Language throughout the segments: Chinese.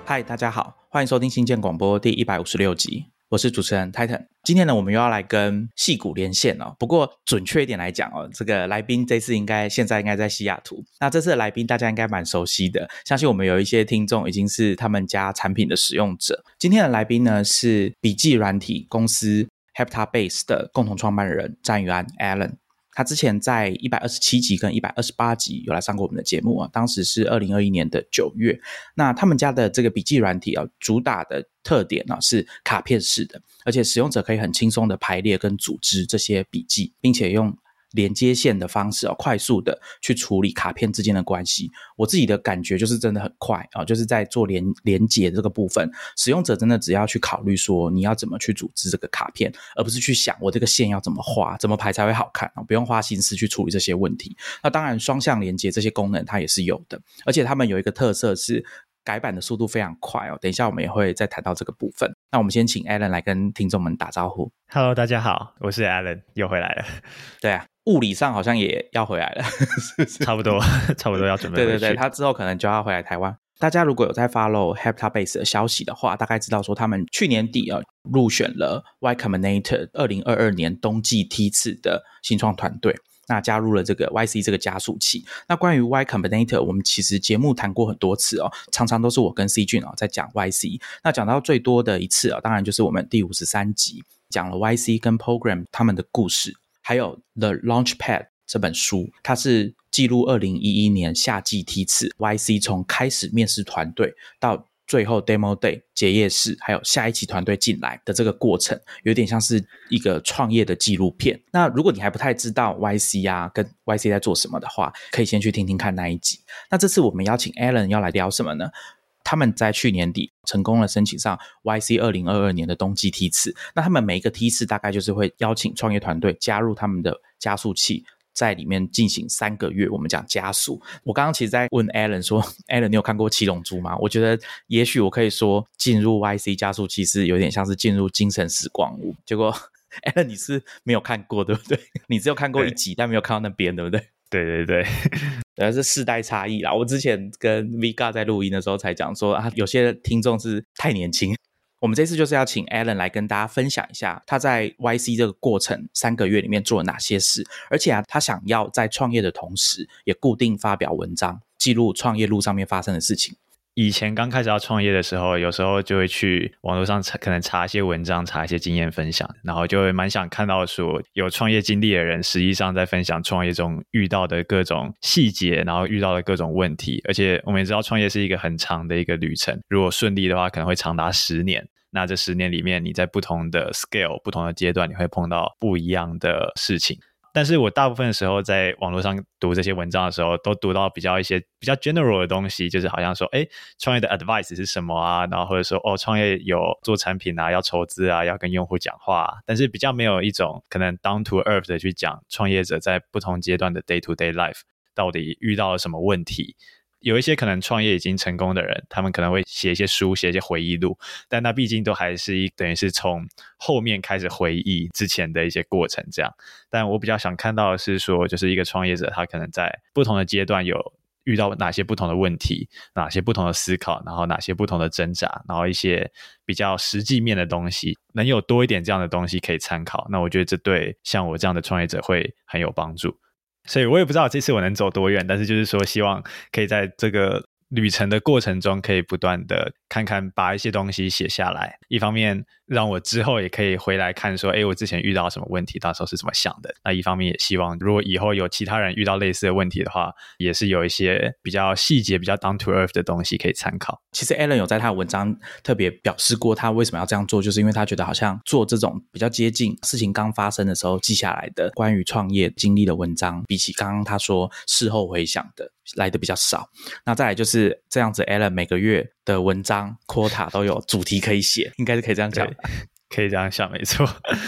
嗨，大家好，欢迎收听新建广播第156集，我是主持人 Titan。今天呢，我们又要来跟矽谷连线哦。不过准确一点来讲哦，这个来宾这次现在应该在西雅图。那这次的来宾大家应该蛮熟悉的，相信我们有一些听众已经是他们家产品的使用者。今天的来宾呢是笔记软体公司 Heptabase 的共同创办人詹宇安 Alan。他之前在127集跟128集有来上过我们的节目啊，当时是2021年的9月。那他们家的这个笔记软体啊，主打的特点啊是卡片式的，而且使用者可以很轻松的排列跟组织这些笔记，并且用连接线的方式快速的去处理卡片之间的关系。我自己的感觉就是真的很快就是在做连接这个部分，使用者真的只要去考虑说你要怎么去组织这个卡片，而不是去想我这个线要怎么画怎么排才会好看，不用花心思去处理这些问题。那当然双向连接这些功能它也是有的，而且他们有一个特色是改版的速度非常快等一下我们也会再谈到这个部分。那我们先请 Alan 来跟听众们打招呼。 Hello， 大家好，我是 Alan， 又回来了。 对啊，物理上好像也要回来了差不多要准备回去。 对，他之后可能就要回来台湾。大家如果有在 follow Heptabase 的消息的话，大概知道说他们去年底入选了 Y Combinator 2022年冬季梯次的新创团队，那加入了这个 YC 这个加速器。那关于 Y Combinator 我们其实节目谈过很多次常常都是我跟 C 君在讲 YC。那讲到最多的一次当然就是我们第53集讲了 YC 跟 Program 他们的故事，还有 The Launchpad 这本书，它是记录2011年夏季梯次 YC 从开始面试团队到最后 Demo Day 结业式还有下一期团队进来的这个过程，有点像是一个创业的纪录片。那如果你还不太知道 YC 跟 YC 在做什么的话，可以先去听听看那一集。那这次我们邀请 Alan 要来聊什么呢？他们在去年底成功了申请上 YC 2022年的冬季梯次。那他们每一个梯次大概就是会邀请创业团队加入他们的加速器，在里面进行3个月，我们讲加速。我刚刚其实在问 Alan 说 Alan 你有看过七龙珠吗？我觉得也许我可以说进入 YC 加速器是有点像是进入精神时光屋。结果 Alan 你是没有看过对不对？你只有看过一集但没有看到那边对不对？ 对对，是世代差异啦。我之前跟 Vega 在录音的时候才讲说有些听众是太年轻。我们这次就是要请 Alan 来跟大家分享一下他在 YC 这个过程3个月里面做了哪些事，而且他想要在创业的同时也固定发表文章，记录创业路上面发生的事情。 以前刚开始要创业的时候，有时候就会去网络上可能查一些文章，查一些经验分享，然后就会蛮想看到说有创业经历的人实际上在分享创业中遇到的各种细节，然后遇到的各种问题。而且我们也知道创业是一个很长的一个旅程，如果顺利的话可能会长达10年。那这10年里面你在不同的 scale 不同的阶段你会碰到不一样的事情。但是我大部分的时候在网络上读这些文章的时候，都读到一些比较 general 的东西，就是好像说创业的 advice 是什么啊，然后或者说创业有做产品啊，要筹资啊，要跟用户讲话啊，但是比较没有一种可能 down to earth 的去讲创业者在不同阶段的 day to day life 到底遇到了什么问题。有一些可能创业已经成功的人，他们可能会写一些书，写一些回忆录，但那毕竟都还是等于是从后面开始回忆之前的一些过程这样。但我比较想看到的是说，就是一个创业者他可能在不同的阶段有遇到哪些不同的问题，哪些不同的思考，然后哪些不同的挣扎，然后一些比较实际面的东西，能有多一点这样的东西可以参考，那我觉得这对像我这样的创业者会很有帮助。所以我也不知道这次我能走多远，但是就是说希望可以在这个旅程的过程中可以不断的看看，把一些东西写下来，一方面让我之后也可以回来看说我之前遇到什么问题，到时候是怎么想的。那一方面也希望如果以后有其他人遇到类似的问题的话，也是有一些比较细节比较 down to earth 的东西可以参考。 其实 Alan 有在他的文章特别表示过他为什么要这样做，就是因为他觉得好像做这种比较接近事情刚发生的时候记下来的关于创业经历的文章，比起刚刚他说事后回想的来的比较少。那再来就是这样子 Alan 每个月的文章 quota 都有主题可以写，应该是可以这样讲。 可以这样想没错。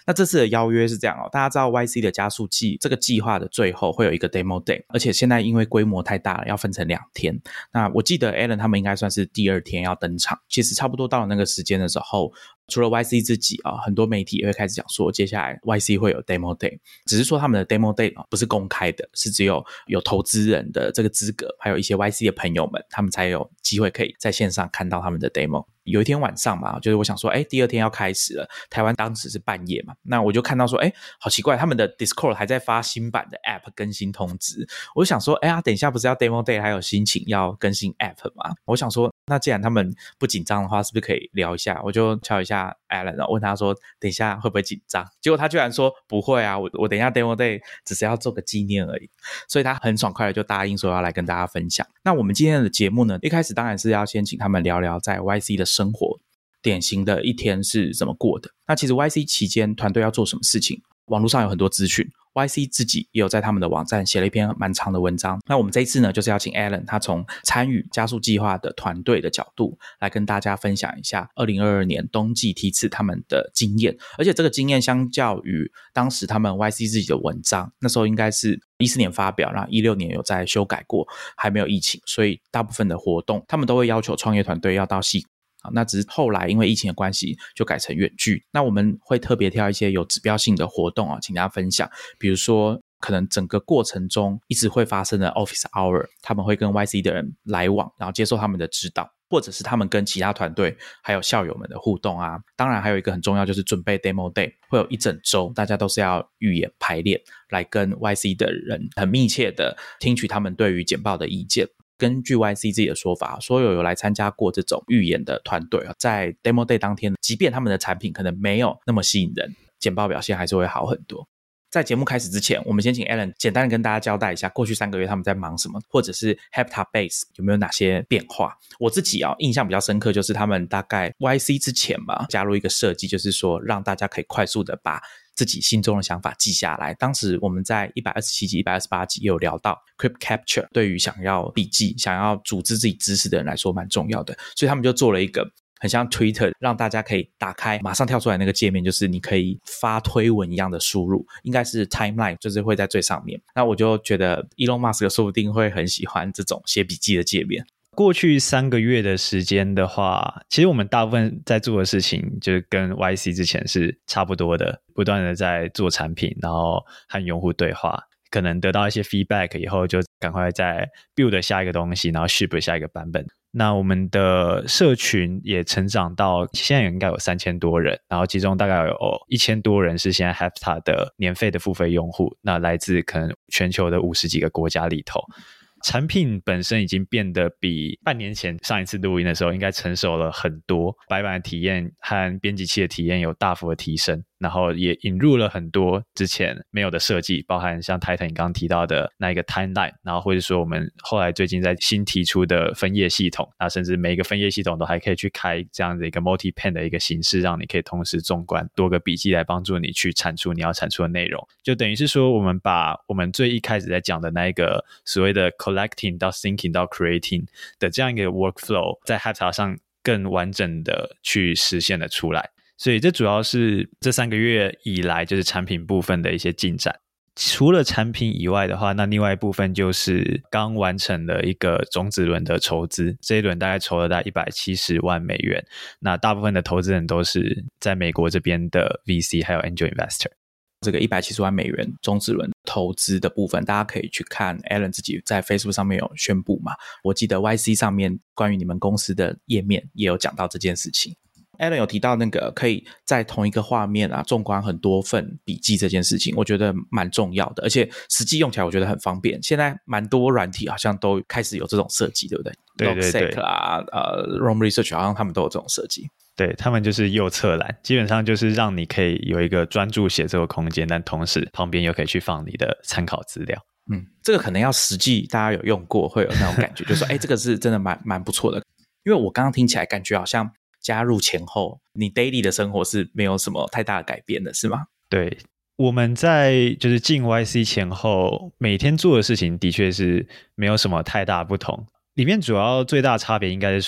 那这次的邀约是这样大家知道 YC 的加速器这个计划的最后会有一个 demo day， 而且现在因为规模太大了，要分成2天。那我记得 Alan 他们应该算是第2天要登场，其实差不多到了那个时间的时候，除了 YC 自己很多媒体也会开始讲说接下来 YC 会有 demo day， 只是说他们的 demo day 不是公开的，是只有投资人的这个资格，还有一些 YC 的朋友们，他们才有机会可以在线上看到他们的 demo。有一天晚上嘛，就是我想说第2天要开始了，台湾当时是半夜嘛，那我就看到说好奇怪，他们的 Discord 还在发新版的 App 更新通知，我就想说等一下不是要 Demo Day 还有心情要更新 App 吗？我想说那既然他们不紧张的话，是不是可以聊一下？我就敲一下 Alan， 然后问他说等一下会不会紧张，结果他居然说不会啊，我等一下 Demo Day 只是要做个纪念而已，所以他很爽快的就答应说要来跟大家分享。那我们今天的节目呢，一开始当然是要先请他们聊聊在 YC 的生活，典型的一天是怎么过的。那其实 YC 期间团队要做什么事情，网络上有很多资讯， YC 自己也有在他们的网站写了一篇蛮长的文章。那我们这一次呢，就是要请 Alan 他从参与加速计划的团队的角度来跟大家分享一下2022年冬季梯次他们的经验，而且这个经验相较于当时他们 YC 自己的文章，那时候应该是14年发表，然后16年有在修改过，还没有疫情，所以大部分的活动他们都会要求创业团队要到矽谷，那只是后来因为疫情的关系就改成远距。那我们会特别挑一些有指标性的活动请大家分享，比如说可能整个过程中一直会发生的 Office Hour， 他们会跟 YC 的人来往，然后接受他们的指导，或者是他们跟其他团队还有校友们的互动啊。当然还有一个很重要，就是准备 Demo Day， 会有一整周大家都是要预演排练，来跟 YC 的人很密切的听取他们对于简报的意见。根据 YC 自己的说法，所有来参加过这种预演的团队，在 Demo Day 当天，即便他们的产品可能没有那么吸引人，简报表现还是会好很多。在节目开始之前，我们先请 Alan 简单的跟大家交代一下过去3个月他们在忙什么，或者是 Heptabase 有没有哪些变化。我自己印象比较深刻，就是他们大概 YC 之前吧，加入一个设计，就是说让大家可以快速的把自己心中的想法记下来。当时我们在127集128集也有聊到 Crypt Capture 对于想要笔记想要组织自己知识的人来说蛮重要的，所以他们就做了一个很像 Twitter， 让大家可以打开马上跳出来那个界面，就是你可以发推文一样的输入，应该是 Timeline， 就是会在最上面。那我就觉得 Elon Musk 说不定会很喜欢这种写笔记的界面。 过去3个月的时间的话，其实我们大部分在做的事情就是跟 YC 之前是差不多的，不断的在做产品，然后和用户对话，可能得到一些 feedback 以后就赶快再 build 下一个东西，然后 ship 下一个版本。那我们的社群也成长到现在应该有3000多人，然后其中大概有1000多人是现在 Hepta 的年费的付费用户，那来自可能全球的50几个国家里头。产品本身已经变得比半年前上一次录音的时候应该成熟了很多，白板的体验和编辑器的体验有大幅的提升，然后也引入了很多之前没有的设计，包含像 Titan 你刚刚提到的那一个 timeline， 然后或者说我们后来最近在新提出的分页系统，那甚至每一个分页系统都还可以去开这样的一个 multi-pen 的一个形式，让你可以同时纵观多个笔记来帮助你去产出你要产出的内容。就等于是说我们把我们最一开始在讲的那一个所谓的 collecting 到 thinking 到 creating 的这样一个 workflow 在 Hepta 上更完整的去实现了出来。所以这主要是这3个月以来就是产品部分的一些进展。除了产品以外的话，那另外一部分就是刚完成了一个种子轮的筹资，这一轮大概筹了大概170万美元，那大部分的投资人都是在美国这边的 VC 还有 Angel Investor。 这个170万美元种子轮投资的部分，大家可以去看 Alan 自己在 Facebook 上面有宣布嘛，我记得 YC 上面关于你们公司的页面也有讲到这件事情。Alan 有提到那个可以在同一个画面纵观很多份笔记这件事情，我觉得蛮重要的，而且实际用起来我觉得很方便。现在蛮多软体好像都开始有这种设计，对不对？ 对对对 Logseq 啦Roam Research 好像他们都有这种设计。 对，他们就是右侧栏，基本上就是让你可以有一个专注写作的空间，但同时旁边又可以去放你的参考资料。 这个可能要实际大家有用过会有那种感觉，就是说这个是真的蛮不错的。因为我刚刚听起来感觉好像加入前后你 daily 的生活是没有什么太大的改变的，是吗？ 对，我们在就是进 YC 前后每天做的事情的确是没有什么太大不同，里面主要最大的差别应该是说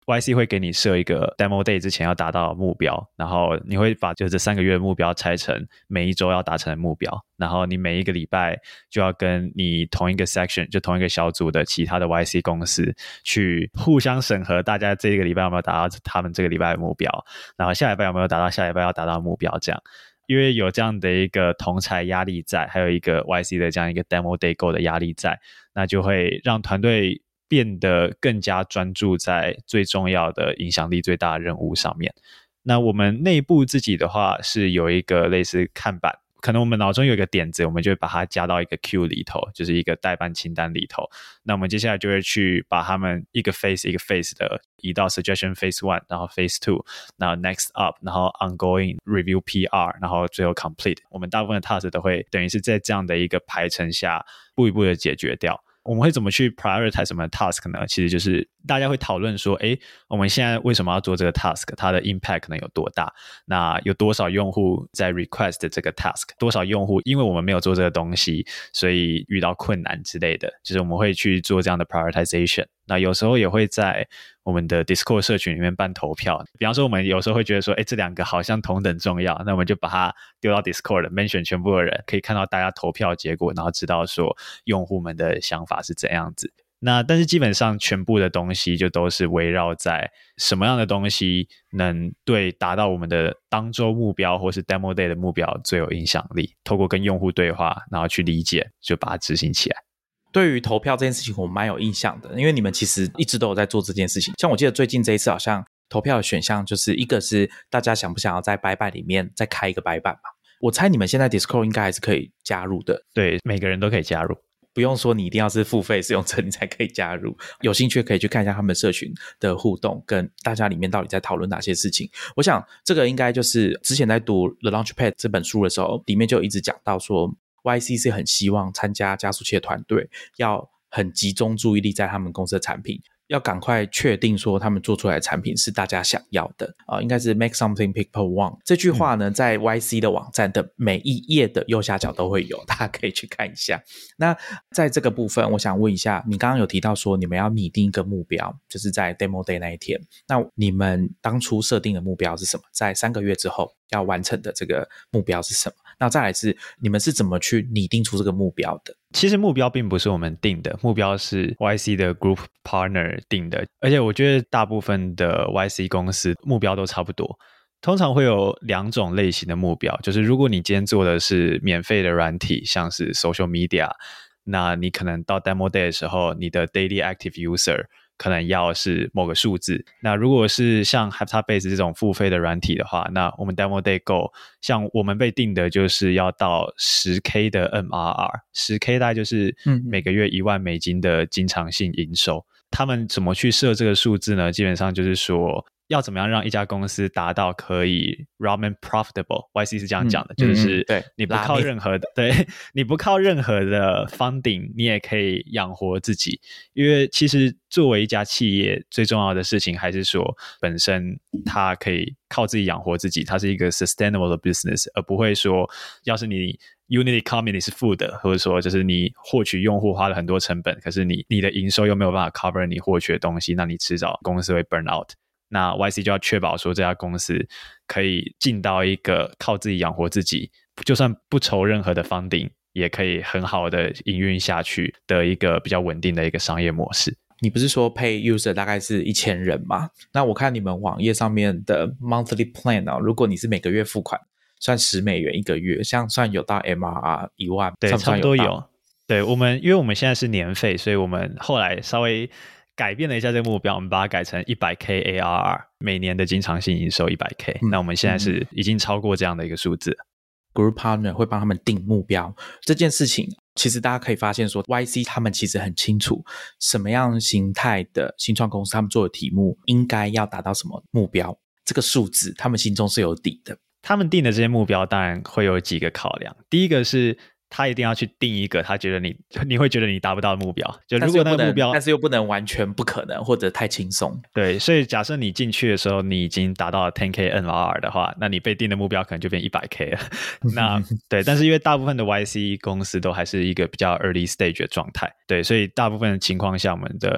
YC 会给你设一个 demo day 之前要达到的目标，然后你会把就这3个月的目标拆成每一周要达成的目标，然后你每一个礼拜就要跟你同一个 section 就同一个小组的其他的 YC 公司去互相审核大家这个礼拜有没有达到他们这个礼拜的目标，然后下礼拜有没有达到下礼拜要达到的目标，这样因为有这样的一个同侪压力在，还有一个 YC 的这样一个 demo day goal 的压力在，那就会让团队变得更加专注在最重要的影响力最大的任务上面。那我们内部自己的话是有一个类似看板，可能我们脑中有一个点子，我们就会把它加到一个 queue 里头，就是一个待办清单里头。那我们接下来就会去把他们一个 phase 一个 phase 的移到 suggestion phase 1， 然后 phase 2， 然后 next up， 然后 ongoing review PR， 然后最后 complete。我们大部分的 task 都会等于是在这样的一个排程下一步一步的解决掉。我们会怎么去 prioritize 什么 task 呢？其实就是大家会讨论说，我们现在为什么要做这个 task， 它的 impact 可能有多大，那有多少用户在 request 这个 task， 多少用户因为我们没有做这个东西所以遇到困难之类的，就是我们会去做这样的 prioritization。那有时候也会在我们的 Discord 社群里面办投票，比方说我们有时候会觉得说这两个好像同等重要，那我们就把它丢到 Discord mention 全部的人，可以看到大家投票结果，然后知道说用户们的想法是怎样子。那但是基本上全部的东西就都是围绕在什么样的东西能对达到我们的当周目标或是 demo day 的目标最有影响力，透过跟用户对话然后去理解，就把它执行起来。 对于投票这件事情我蛮有印象的，因为你们其实一直都有在做这件事情。像我记得最近这一次好像投票的选项就是一个是大家想不想要在白板里面再开一个白板嘛，我猜你们现在 Discord 应该还是可以加入的。 对，每个人都可以加入， 不用说你一定要是付费使用者你才可以加入，有兴趣可以去看一下他们社群的互动跟大家里面到底在讨论哪些事情。我想这个应该就是之前在读 The Launchpad 这本书的时候里面就一直讲到说YC 是很希望参加加速器的团队要很集中注意力在他们公司的产品，要赶快确定说他们做出来的产品是大家想要的应该是 make something people want 这句话呢在 YC 的网站的每一页的右下角都会有，大家可以去看一下。那在这个部分我想问一下，你刚刚有提到说你们要拟定一个目标，就是在 demo day 那一天，那你们当初设定的目标是什么？在3个月之后要完成的这个目标是什么？那再来是你们是怎么去拟定出这个目标的？ 其实目标并不是我们定的，目标是 YC 的 group partner 定的，而且我觉得大部分的 YC 公司目标都差不多。通常会有2种类型的目标，就是如果你今天做的是免费的软体，像是 social media， 那你可能到 demo day 的时候，你的 daily active user可能要是某个数字。那如果是像 Heptabase 这种付费的软体的话，那我们 demo day goal 像我们被定的就是要到 10K 的 MRR， 10K 大概就是每个月$1万的经常性营收。他们怎么去设这个数字呢？基本上就是说要怎么样让一家公司达到可以 remain profitable， YC 是这样讲的，就是你不靠任何的你不靠任何的 funding 你也可以养活自己。因为其实作为一家企业最重要的事情还是说本身它可以靠自己养活自己，它是一个 sustainable 的 business， 而不会说要是你unit economy 是负的，或者说就是你获取用户花了很多成本，可是你的营收又没有办法 cover 你获取的东西，那你迟早公司会 burn out。那 YC 就要确保说这家公司可以进到一个靠自己养活自己，就算不筹任何的 funding 也可以很好的营运下去的一个比较稳定的一个商业模式。 你不是说 pay user 大概是1000人吗？那我看你们网页上面的 monthly plan 如果你是每个月付款算$10一个月，像算有到 MRR 1万， 对，差不多有。对，因为我们现在是年费，所以我们后来稍微改变了一下这个目标，我们把它改成 100K ARR， 每年的经常性营收 100K，那我们现在是已经超过这样的一个数字。 Group Partner 会帮他们定目标这件事情，其实大家可以发现说 YC 他们其实很清楚什么样形态的新创公司他们做的题目应该要达到什么目标，这个数字他们心中是有底的。 他们定的这些目标当然会有几个考量，第一个是他一定要去定一个他觉得你会觉得你达不到的目标，就如果那个目标但是又不能完全不可能或者太轻松。 对，所以假设你进去的时候你已经达到了 10K MRR 的话，那你被定的目标可能就变 100K 了。那对，但是因为大部分的 YC 公司都还是一个比较 early stage 的状态，对，所以大部分的情况下我们的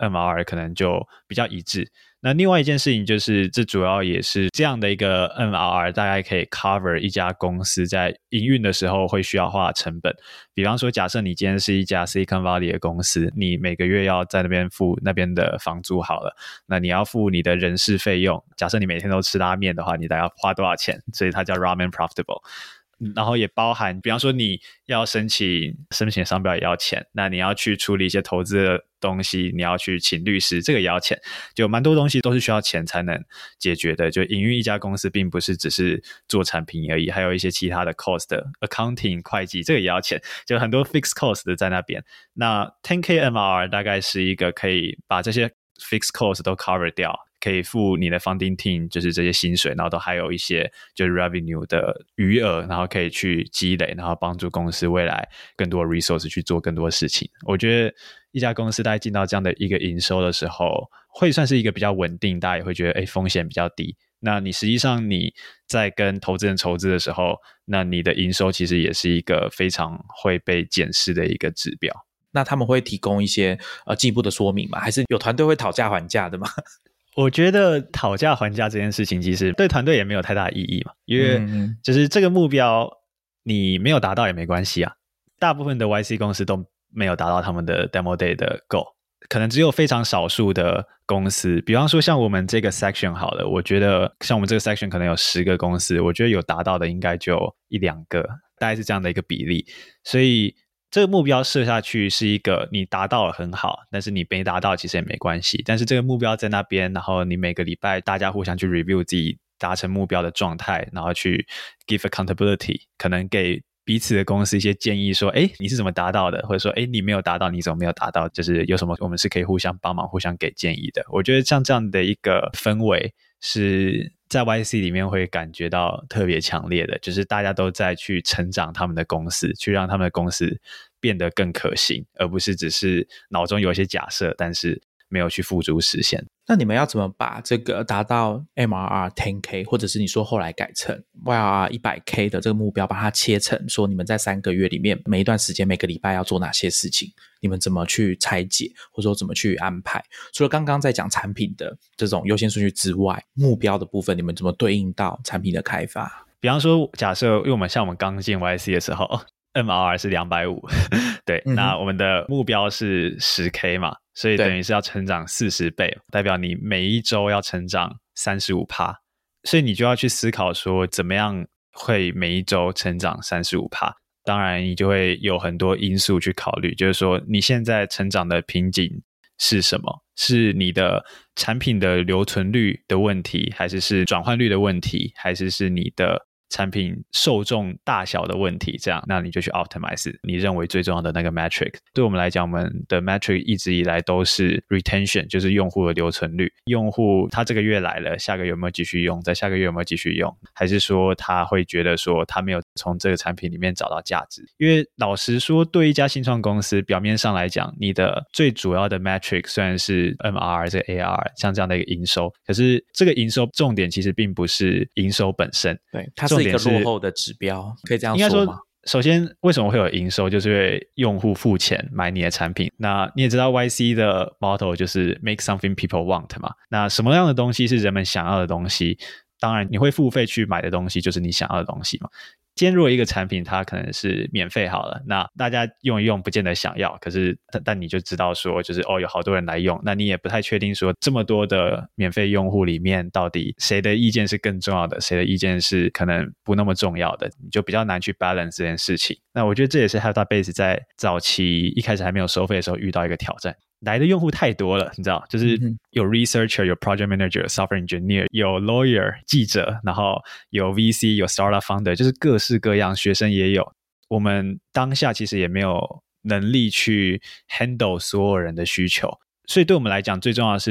MRR 可能就比较一致。那另外一件事情就是，这主要也是这样的一个 MRR 大概可以 cover 一家公司在营运的时候会需要花的成本。比方说，假设你今天是一家 Silicon Valley 的公司，你每个月要在那边付那边的房租好了，那你要付你的人事费用，假设你每天都吃拉面的话，你大概要花多少钱？所以它叫 Ramen Profitable。然后也包含比方说你要申请商标也要钱，那你要去处理一些投资的东西，你要去请律师，这个也要钱，就蛮多东西都是需要钱才能解决的。就营运一家公司并不是只是做产品而已，还有一些其他的 cost accounting 会计，这个也要钱，就很多 fixed cost 的在那边。那 10K MRR 大概是一个可以把这些 fixed cost 都 cover 掉，可以付你的 funding team 就是这些薪水，然后都还有一些就是 revenue 的余额，然后可以去积累，然后帮助公司未来更多 resource 去做更多事情。我觉得一家公司大概进到这样的一个营收的时候，会算是一个比较稳定，大家也会觉得风险比较低。那你实际上你在跟投资人筹资的时候，那你的营收其实也是一个非常会被检视的一个指标。 那他们会提供一些进一步的说明吗？还是有团队会讨价还价的吗？ 我觉得讨价还价这件事情其实对团队也没有太大的意义嘛，因为就是这个目标你没有达到也没关系啊。大部分的 YC 公司都没有达到他们的 Demo Day 的 Goal， 可能只有非常少数的公司，比方说像我们这个 section 好了，我觉得像我们这个 section 可能有10个公司，我觉得有达到的应该就1-2个，大概是这样的一个比例。所以这个目标设下去是一个你达到了很好，但是你没达到其实也没关系，但是这个目标在那边，然后你每个礼拜大家互相去 review 自己达成目标的状态，然后去 give accountability， 可能给彼此的公司一些建议说你是怎么达到的，或者说你没有达到你怎么没有达到，就是有什么我们是可以互相帮忙互相给建议的。我觉得像这样的一个氛围是在 YC 里面会感觉到特别强烈的，就是大家都在去成长他们的公司，去让他们的公司变得更可行，而不是只是脑中有一些假设但是没有去付诸实现。 那你们要怎么把这个达到 MRR 10K 或者是你说后来改成 YRR 100K 的这个目标，把它切成说你们在3个月里面每一段时间每个礼拜要做哪些事情，你们怎么去拆解或者说怎么去安排？除了刚刚在讲产品的这种优先顺序之外，目标的部分你们怎么对应到产品的开发？ 比方说假设因为我们刚进 YC 的时候MRR 是250对，那我们的目标是 10K 嘛，所以等于是要成长40倍，代表你每一周要成长 35%， 所以你就要去思考说怎么样会每一周成长 35%。 当然你就会有很多因素去考虑，就是说你现在成长的瓶颈是什么，是你的产品的留存率的问题，还是转换率的问题，还是你的产品受众大小的问题，这样那你就去 optimize 你认为最重要的那个 metric。 对我们来讲，我们的 metric 一直以来都是 retention， 就是用户的留存率，用户他这个月来了，下个月有没有继续用，在下个月有没有继续用，还是说他会觉得说他没有从这个产品里面找到价值。因为老实说，对一家新创公司表面上来讲，你的最主要的 metric 虽然是 MRR 这个 ARR 像这样的一个营收，可是这个营收重点其实并不是营收本身， 对，它是一个落后的指标，可以这样说吗？ 应该说首先为什么会有营收，就是因为用户付钱买你的产品。那你也知道 YC 的 motto 就是 make something people want 嘛，那什么样的东西是人们想要的东西，当然你会付费去买的东西就是你想要的东西嘛。今天如果一个产品它可能是免费好了，那大家用一用不见得想要，可是但你就知道说就是有好多人来用，那你也不太确定说这么多的免费用户里面到底谁的意见是更重要的，谁的意见是可能不那么重要的，你就比较难去 balance 这件事情。那我觉得这也是 HelpDatabase 在早期一开始还没有收费的时候遇到一个挑战，来的用户太多了，你知道，就是有 researcher， 有 project manager， 有 software engineer， 有 lawyer 记者，然后有 VC， 有 startup founder， 就是各式各样，学生也有。我们当下其实也没有能力去 handle 所有人的需求，所以对我们来讲最重要的是说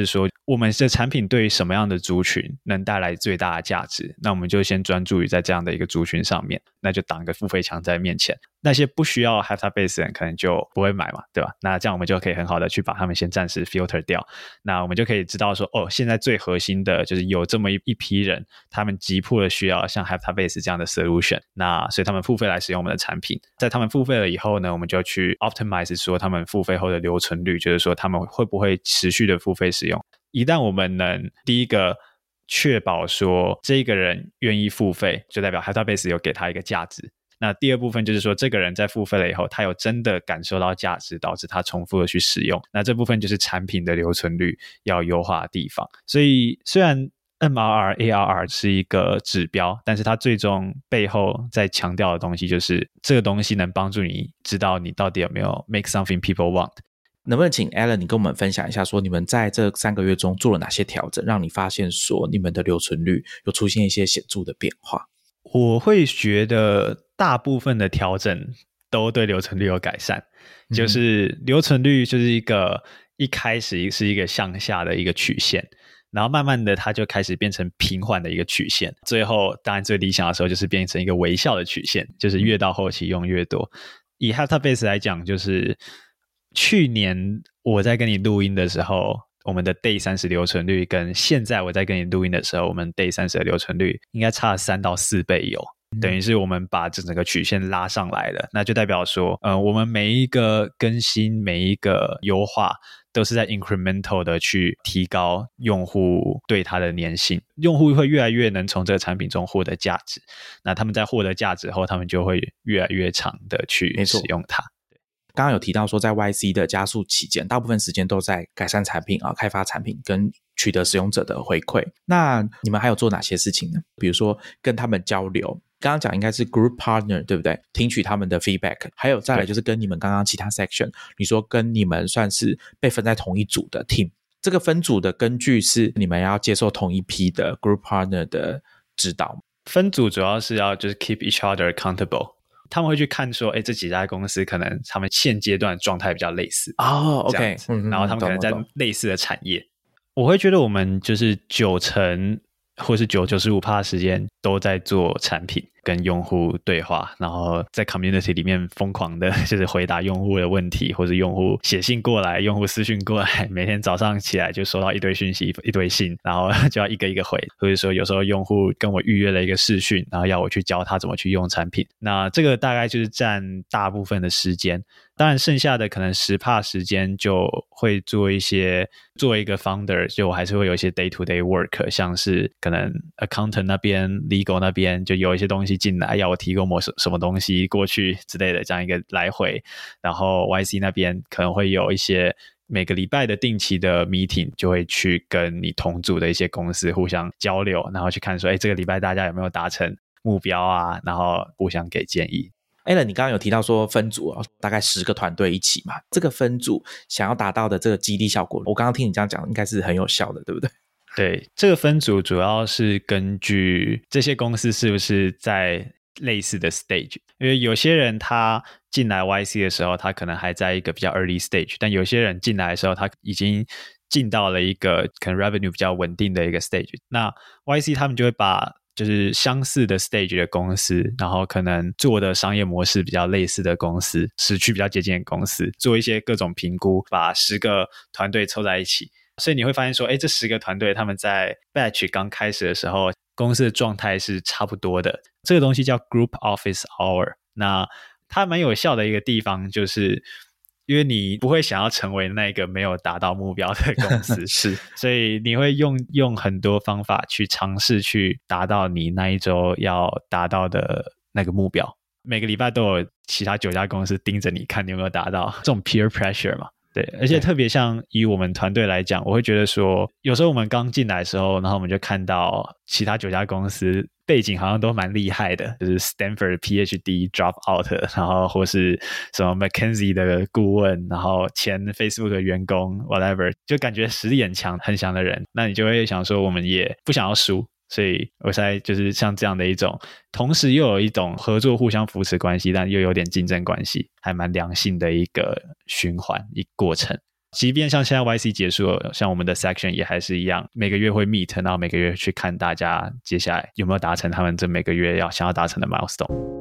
我们的产品对于什么样的族群能带来最大的价值，那我们就先专注于在这样的一个族群上面，那就挡个付费墙在面前，那些不需要 Have That Base 的人可能就不会买嘛，对吧？那这样我们就可以很好的去把他们先暂时 filter 掉，那我们就可以知道说现在最核心的就是有这么一批人，他们急迫的需要像 Have That Base 这样的 solution， 那所以他们付费来使用我们的产品，在他们付费了以后呢，我们就去 optimize 说他们付费后的留存率，就是说他们会不会持续的付费使用。一旦我们能第一个确保说这个人愿意付费，就代表 Have That Base 有给他一个价值，那第二部分就是说这个人在付费了以后，他有真的感受到价值，导致他重复的去使用，那这部分就是产品的留存率要优化的地方。所以虽然MRR、ARR 是一个指标，但是它最终背后在强调的东西就是这个东西能帮助你知道你到底有没有 make something people want。 能不能请 Alan 你跟我们分享一下说你们在这3个月中做了哪些调整，让你发现说你们的留存率有出现一些显著的变化？ 我会觉得大部分的调整都对留存率有改善，就是留存率就是一开始是一个向下的一个曲线，然后慢慢的它就开始变成平缓的一个曲线，最后当然最理想的时候就是变成一个微笑的曲线，就是越到后期用越多。以 Have That Base 来讲，就是去年我在跟你录音的时候，我们的 Day 30留存率跟现在我在跟你录音的时候，我们 Day 30的留存率应该差了3到4倍有，等于是我们把整个曲线拉上来了，那就代表说我们每一个更新每一个优化都是在 incremental 的去提高用户对它的粘性，用户会越来越能从这个产品中获得价值，那他们在获得价值后，他们就会越来越长的去使用它。 刚刚有提到说在 YC 的加速期间，大部分时间都在改善产品开发产品跟取得使用者的回馈，那你们还有做哪些事情呢？比如说跟他们交流，刚刚讲应该是 group partner 对不对？听取他们的 feedback， 还有再来就是跟你们刚刚其他 section， 你说跟你们算是被分在同一组的 team， 这个分组的根据是你们要接受同一批的 group partner 的指导。 分组主要是要就是 keep each other accountable，他们会去看说这几家公司可能他们现阶段的状态比较类似 OK， 然后他们可能在类似的产业，我会觉得我们就是90%或是95% 的时间都在做产品跟用户对话，然后在 community 里面疯狂的就是回答用户的问题，或者用户写信过来，用户私讯过来，每天早上起来就收到一堆讯息一堆信，然后就要一个一个回，或者说有时候用户跟我预约了一个视讯，然后要我去教他怎么去用产品，那这个大概就是占大部分的时间，当然剩下的可能10% 时间就会做一个 founder， 就我还是会有一些 day to day work， 像是可能 accountant 那边 legal 那边就有一些东西进来要我提供什么东西过去之类的，这样一个来回，然后 YC 那边可能会有一些每个礼拜的定期的 meeting， 就会去跟你同组的一些公司互相交流，然后去看说这个礼拜大家有没有达成目标啊，然后互相给建议。 Alan 你刚刚有提到说分组大概10个团队一起嘛，这个分组想要达到的这个激励效果，我刚刚听你这样讲应该是很有效的，对不对？ 对，这个分组主要是根据这些公司是不是在类似的 stage， 因为有些人他进来 YC 的时候他可能还在一个比较 early stage， 但有些人进来的时候他已经进到了一个可能 revenue 比较稳定的一个 stage， 那 YC 他们就会把就是相似的 stage 的公司，然后可能做的商业模式比较类似的公司，时区比较接近的公司，做一些各种评估，把10个团队凑在一起，所以你会发现说这10个团队他们在 batch 刚开始的时候公司的状态是差不多的，这个东西叫 group office hour， 那它蛮有效的一个地方就是因为你不会想要成为那个没有达到目标的公司是， 所以你会用很多方法去尝试去达到你那一周要达到的那个目标，每个礼拜都有其他9家公司盯着你看你有没有达到，这种 peer pressure 嘛。对，而且特别像以我们团队来讲，我会觉得说有时候我们刚进来的时候，然后我们就看到其他9家公司背景好像都蛮厉害的，就是 Stanford PhD drop out， 然后或是什么 McKinsey 的顾问，然后前 Facebook 的员工 whatever， 就感觉实力很强很强的人，那你就会想说我们也不想要输，所以我才就是像这样的一种同时又有一种合作互相扶持关系，但又有点竞争关系，还蛮良性的一个循环一个过程。 即便像现在 YC 结束了，像我们的 section 也还是一样，每个月会 meet， 然后每个月去看大家接下来有没有达成他们这每个月想要达成的 milestone。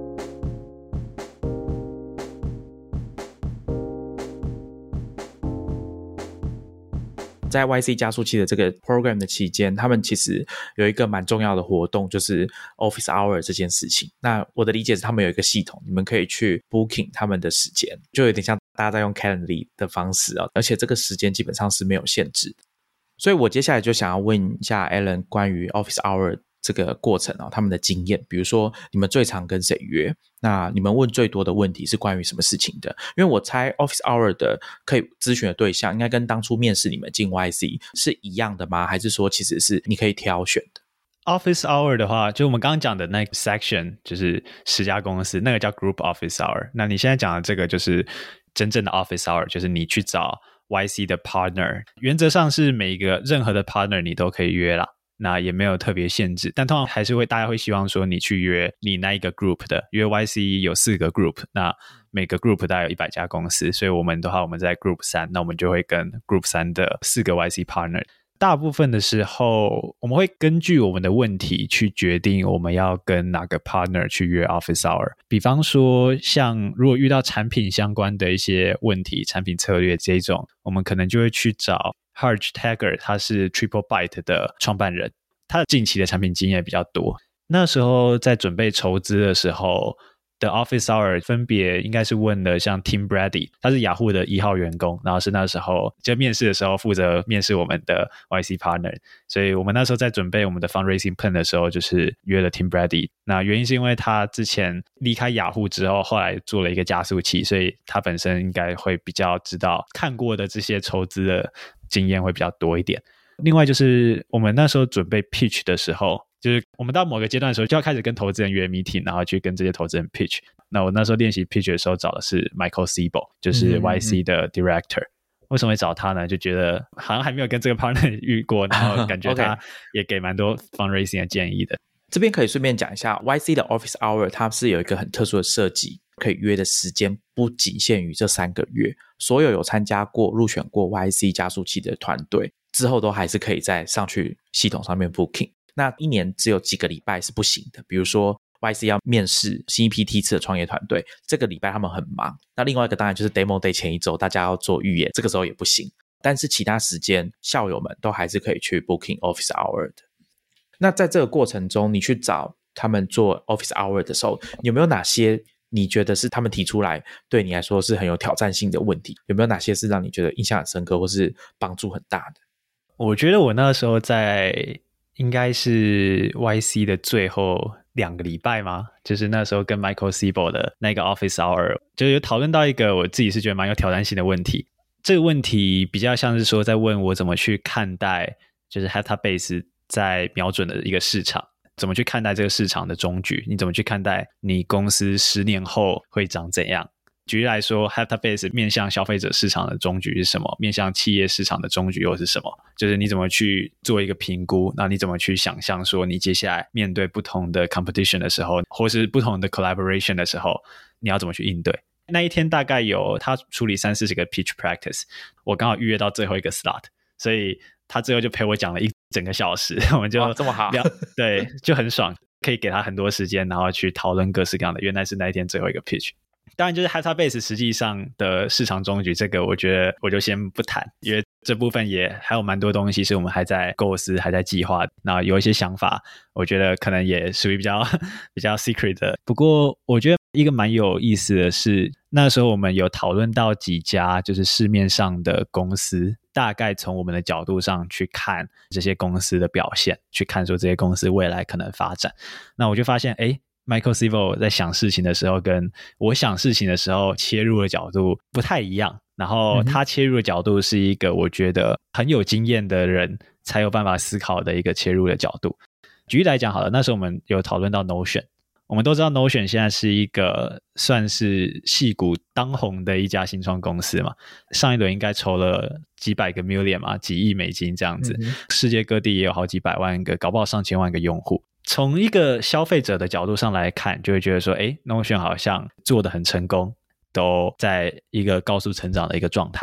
在 YC 加速器的这个 program 的期间，他们其实有一个蛮重要的活动，就是 Office Hour 这件事情。那我的理解是他们有一个系统，你们可以去 booking 他们的时间，就有点像大家在用 Calendly 的方式而且这个时间基本上是没有限制的。所以我接下来就想要问一下 Alan 关于 Office Hour 这个过程他们的经验，比如说你们最常跟谁约，那你们问最多的问题是关于什么事情的？因为我猜 Office Hour 的可以咨询的对象应该跟当初面试你们进 YC 是一样的吗？还是说其实是你可以挑选的？ Office Hour 的话，就我们刚刚讲的那个 section 就是10家公司，那个叫 Group Office Hour。那你现在讲的这个就是真正的 Office Hour， 就是你去找 YC 的 partner， 原则上是每一个任何的 partner 你都可以约啦，那也没有特别限制，但通常还是大家会希望说你去约你那一个 group 的，因为 YC 有4个 group， 那每个 group 大概有100家公司，所以我们的话我们在 group 3，那我们就会跟 group 3的4个 YC partner。大部分的时候我们会根据我们的问题去决定我们要跟哪个 partner 去约 office hour。 比方说像如果遇到产品相关的一些问题，产品策略这种，我们可能就会去找 Harj Tagger， 他是 TripleByte 的创办人，他的近期的产品经验比较多。那时候在准备筹资的时候的 Office Hour 分别应该是问了像 Tim Brady， 他是雅虎的1号员工，然后是那时候就面试的时候负责面试我们的 YC partner， 所以我们那时候在准备我们的 fundraising plan 的时候就是约了 Tim Brady。 那原因是因为他之前离开雅虎之后后来做了一个加速器，所以他本身应该会比较知道看过的这些筹资的经验会比较多一点。另外就是我们那时候准备 pitch 的时候，就是我们到某个阶段的时候就要开始跟投资人约 meeting， 然后去跟这些投资人 pitch。 那我那时候练习 pitch 的时候找的是 Michael Siebel， 就是 YC 的 director。为什么会找他呢？就觉得好像还没有跟这个 partner 遇过，然后感觉他也给蛮多 fundraising 的建议的。 这边可以顺便讲一下 YC 的 Office Hour 它是有一个很特殊的设计，可以约的时间不仅限于这3个月，所有参加过入选过 YC 加速器的团队之后都还是可以再上去系统上面 booking。 那一年只有几个礼拜是不行的，比如说 YC 要面试新一批梯次的创业团队，这个礼拜他们很忙。那另外一个当然就是 Demo Day 前一周大家要做预演，这个时候也不行。但是其他时间校友们都还是可以去 booking Office Hour 的。那在这个过程中你去找他们做 Office Hour 的时候，有没有哪些你觉得是他们提出来对你来说是很有挑战性的问题？有没有哪些是让你觉得印象很深刻或是帮助很大的？ 我觉得我那时候在应该是 YC 的最后2个礼拜嘛，就是那时候跟 Michael Siebel 的那个 Office Hour 就有讨论到一个我自己是觉得蛮有挑战性的问题。这个问题比较像是说在问我怎么去看待就是 Database 在瞄准的一个市场，怎么去看待这个市场的终局，你怎么去看待你公司10年后会长怎样。举例来说 Database 面向消费者市场的终局是什么，面向企业市场的终局又是什么，就是你怎么去做一个评估，那你怎么去想象说你接下来面对不同的 competition 的时候，或是不同的 collaboration 的时候你要怎么去应对。那一天大概有他处理30-40个 pitch practice， 我刚好预约到最后一个 slot， 所以他最后就陪我讲了1整个小时，我们就这么好对，就很爽，可以给他很多时间然后去讨论各式各样的，原来是那一天最后一个 pitch。当然就是 Database 实际上的市场终局，这个我觉得我就先不谈，因为这部分也还有蛮多东西是我们还在构思还在计划，那有一些想法我觉得可能也属于比较secret 的。不过我觉得一个蛮有意思的是，那时候我们有讨论到几家就是市面上的公司，大概从我们的角度上去看这些公司的表现，去看说这些公司未来可能发展。那我就发现Michael Siebel 在想事情的时候跟我想事情的时候切入的角度不太一样，然后他切入的角度是一个我觉得很有经验的人才有办法思考的一个切入的角度。举例来讲好了，那时候我们有讨论到 Notion， 我们都知道 Notion 现在是一个算是矽谷当红的一家新创公司嘛，上一轮应该筹了几百个 million 嘛，几亿美金这样子，世界各地也有好几百万个，搞不好上千万个用户。从一个消费者的角度上来看，就会觉得说Notion 好像做得很成功，都在一个高速成长的一个状态。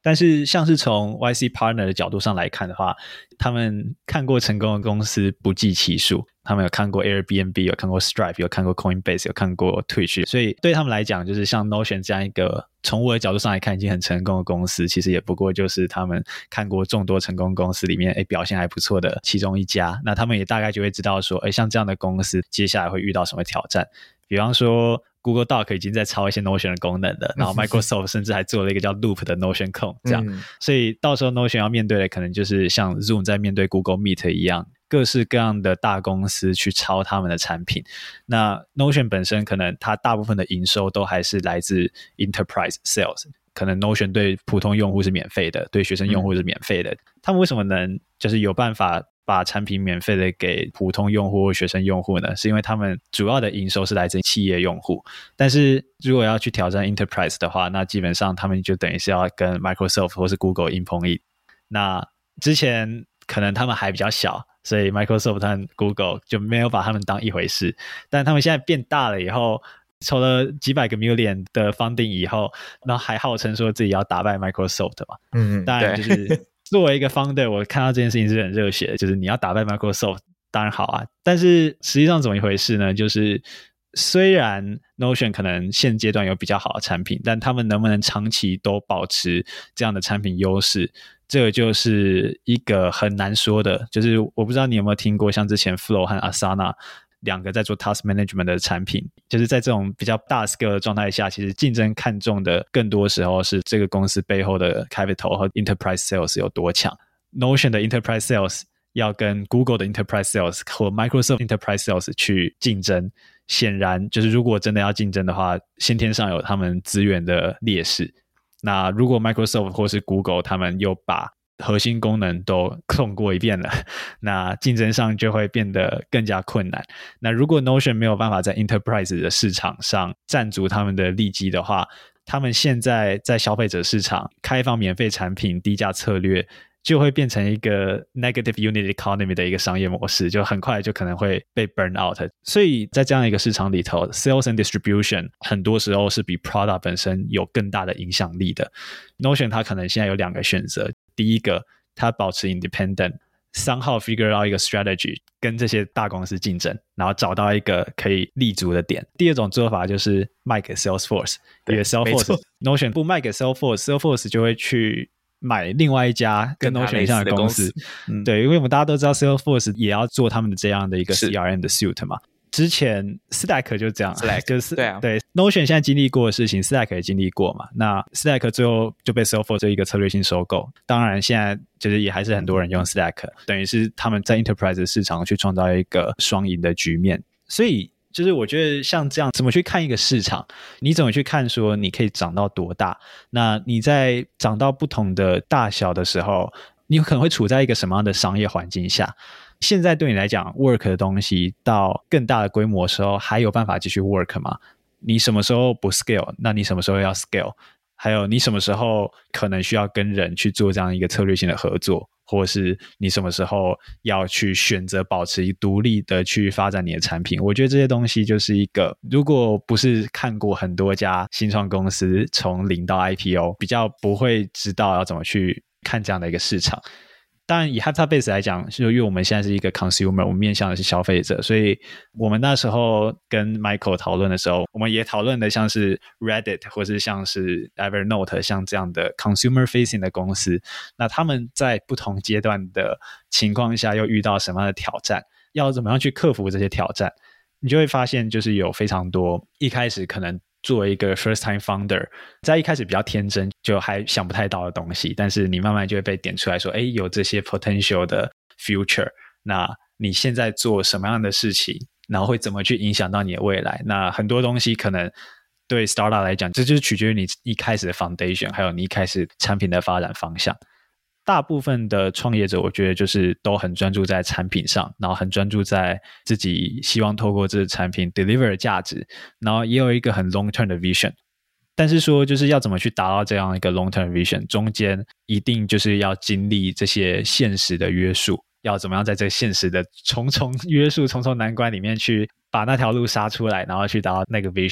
但是像是从 YC Partner 的角度上来看的话，他们看过成功的公司不计其数，他们有看过 Airbnb， 有看过 Stripe， 有看过 Coinbase， 有看过 Twitch， 所以对他们来讲，就是像 Notion 这样一个从我的角度上来看已经很成功的公司，其实也不过就是他们看过众多成功公司里面表现还不错的其中一家，那他们也大概就会知道说像这样的公司接下来会遇到什么挑战。比方说 Google Doc 已经在抄一些 Notion 的功能了，然后 Microsoft 甚至还做了一个叫 Loop 的 Notion Clone 这样，所以到时候 Notion 要面对的可能就是像 Zoom 在面对 Google Meet 一样，各式各样的大公司去抄他们的产品。那 Notion 本身可能它大部分的营收都还是来自 Enterprise Sales， 可能 Notion 对普通用户是免费的，对学生用户是免费的，他们为什么能就是有办法把产品免费的给普通用户或学生用户呢？是因为他们主要的营收是来自企业用户，但是如果要去挑战 Enterprise 的话，那基本上他们就等于是要跟 Microsoft 或是 Google 硬碰硬。那之前可能他们还比较小，所以 Microsoft 和 Google 就没有把他们当一回事，但他们现在变大了以后，筹了几百个 million 的 funding 以后，然后还号称说自己要打败 Microsoft 嘛。当然就是作为一个 founder， 我看到这件事情是很热血的，就是你要打败 Microsoft 当然好啊，但是实际上怎么一回事呢？就是虽然 Notion 可能现阶段有比较好的产品，但他们能不能长期都保持这样的产品优势，这个就是一个很难说的。就是我不知道你有没有听过像之前 Flow 和 Asana两个在做 task management 的产品，就是在这种比较大 scale 的状态下，其实竞争看重的更多时候是这个公司背后的 capital 和 enterprise sales 有多强。 Notion 的 enterprise sales 要跟 Google 的 enterprise sales 或 Microsoft enterprise sales 去竞争，显然就是如果真的要竞争的话，先天上有他们资源的劣势。那如果 Microsoft 或是 Google 他们又把核心功能都控过一遍了，那竞争上就会变得更加困难。那如果 Notion 没有办法在 Enterprise 的市场上占足他们的利基的话，他们现在在消费者市场开放免费产品低价策略就会变成一个 negative unit economy 的一个商业模式，就很快就可能会被 burn out。 所以在这样一个市场里头， sales and distribution 很多时候是比 product 本身有更大的影响力的。 Notion 它可能现在有两个选择，第一个它保持 independent， somehow figure out 一个 strategy 跟这些大公司竞争，然后找到一个可以立足的点。第二种做法就是卖给 Salesforce， 因为 Salesforce Notion 不卖给 Salesforce 就会去买另外一家跟 Notion 一样的公司。对，因为我们大家都知道 Salesforce 也要做他们的这样的一个 CRM 的 suite 嘛。之前 Slack 就这样， Slack 就是对 Notion 现在经历过的事情 Slack 也经历过嘛。那 Slack 最后就被 Salesforce 这一个策略性收购，当然现在就是也还是很多人用 Slack， 等于是他们在 Enterprise 市场去创造一个双赢的局面。所以就是我觉得像这样怎么去看一个市场，你怎么去看说你可以长到多大，那你在长到不同的大小的时候，你可能会处在一个什么样的商业环境下。现在对你来讲 work 的东西到更大的规模的时候还有办法继续 work 吗？你什么时候不 scale， 那你什么时候要 scale， 还有你什么时候可能需要跟人去做这样一个策略性的合作，或是你什么时候要去选择保持独立的去发展你的产品。我觉得这些东西就是一个，如果不是看过很多家新创公司从零到 IPO， 比较不会知道要怎么去看这样的一个市场。当然以 Hyptabase 来讲，因为我们现在是一个 consumer， 我们面向的是消费者，所以我们那时候跟 Michael 讨论的时候，我们也讨论的像是 Reddit 或是像是 Evernote 像这样的 consumer facing 的公司，那他们在不同阶段的情况下又遇到什么样的挑战，要怎么样去克服这些挑战，你就会发现就是有非常多一开始可能作为一个 first time founder 在一开始比较天真就还想不太到的东西，但是你慢慢就会被点出来说有这些 potential 的 future， 那你现在做什么样的事情，然后会怎么去影响到你的未来。那很多东西可能对 startup 来讲，这就是取决于你一开始的 foundation， 还有你一开始产品的发展方向。大部分的创业者我觉得就是都很专注在产品上，然后很专注在自己希望透过这个产品 deliver 的价值，然后也有一个很 long term 的 vision。 但是说就是要怎么去达到这样一个 long term vision， 中间一定就是要经历这些现实的约束，要怎么样在这个现实的重重约束重重难关里面去把那条路杀出来，然后去达到那个 vision。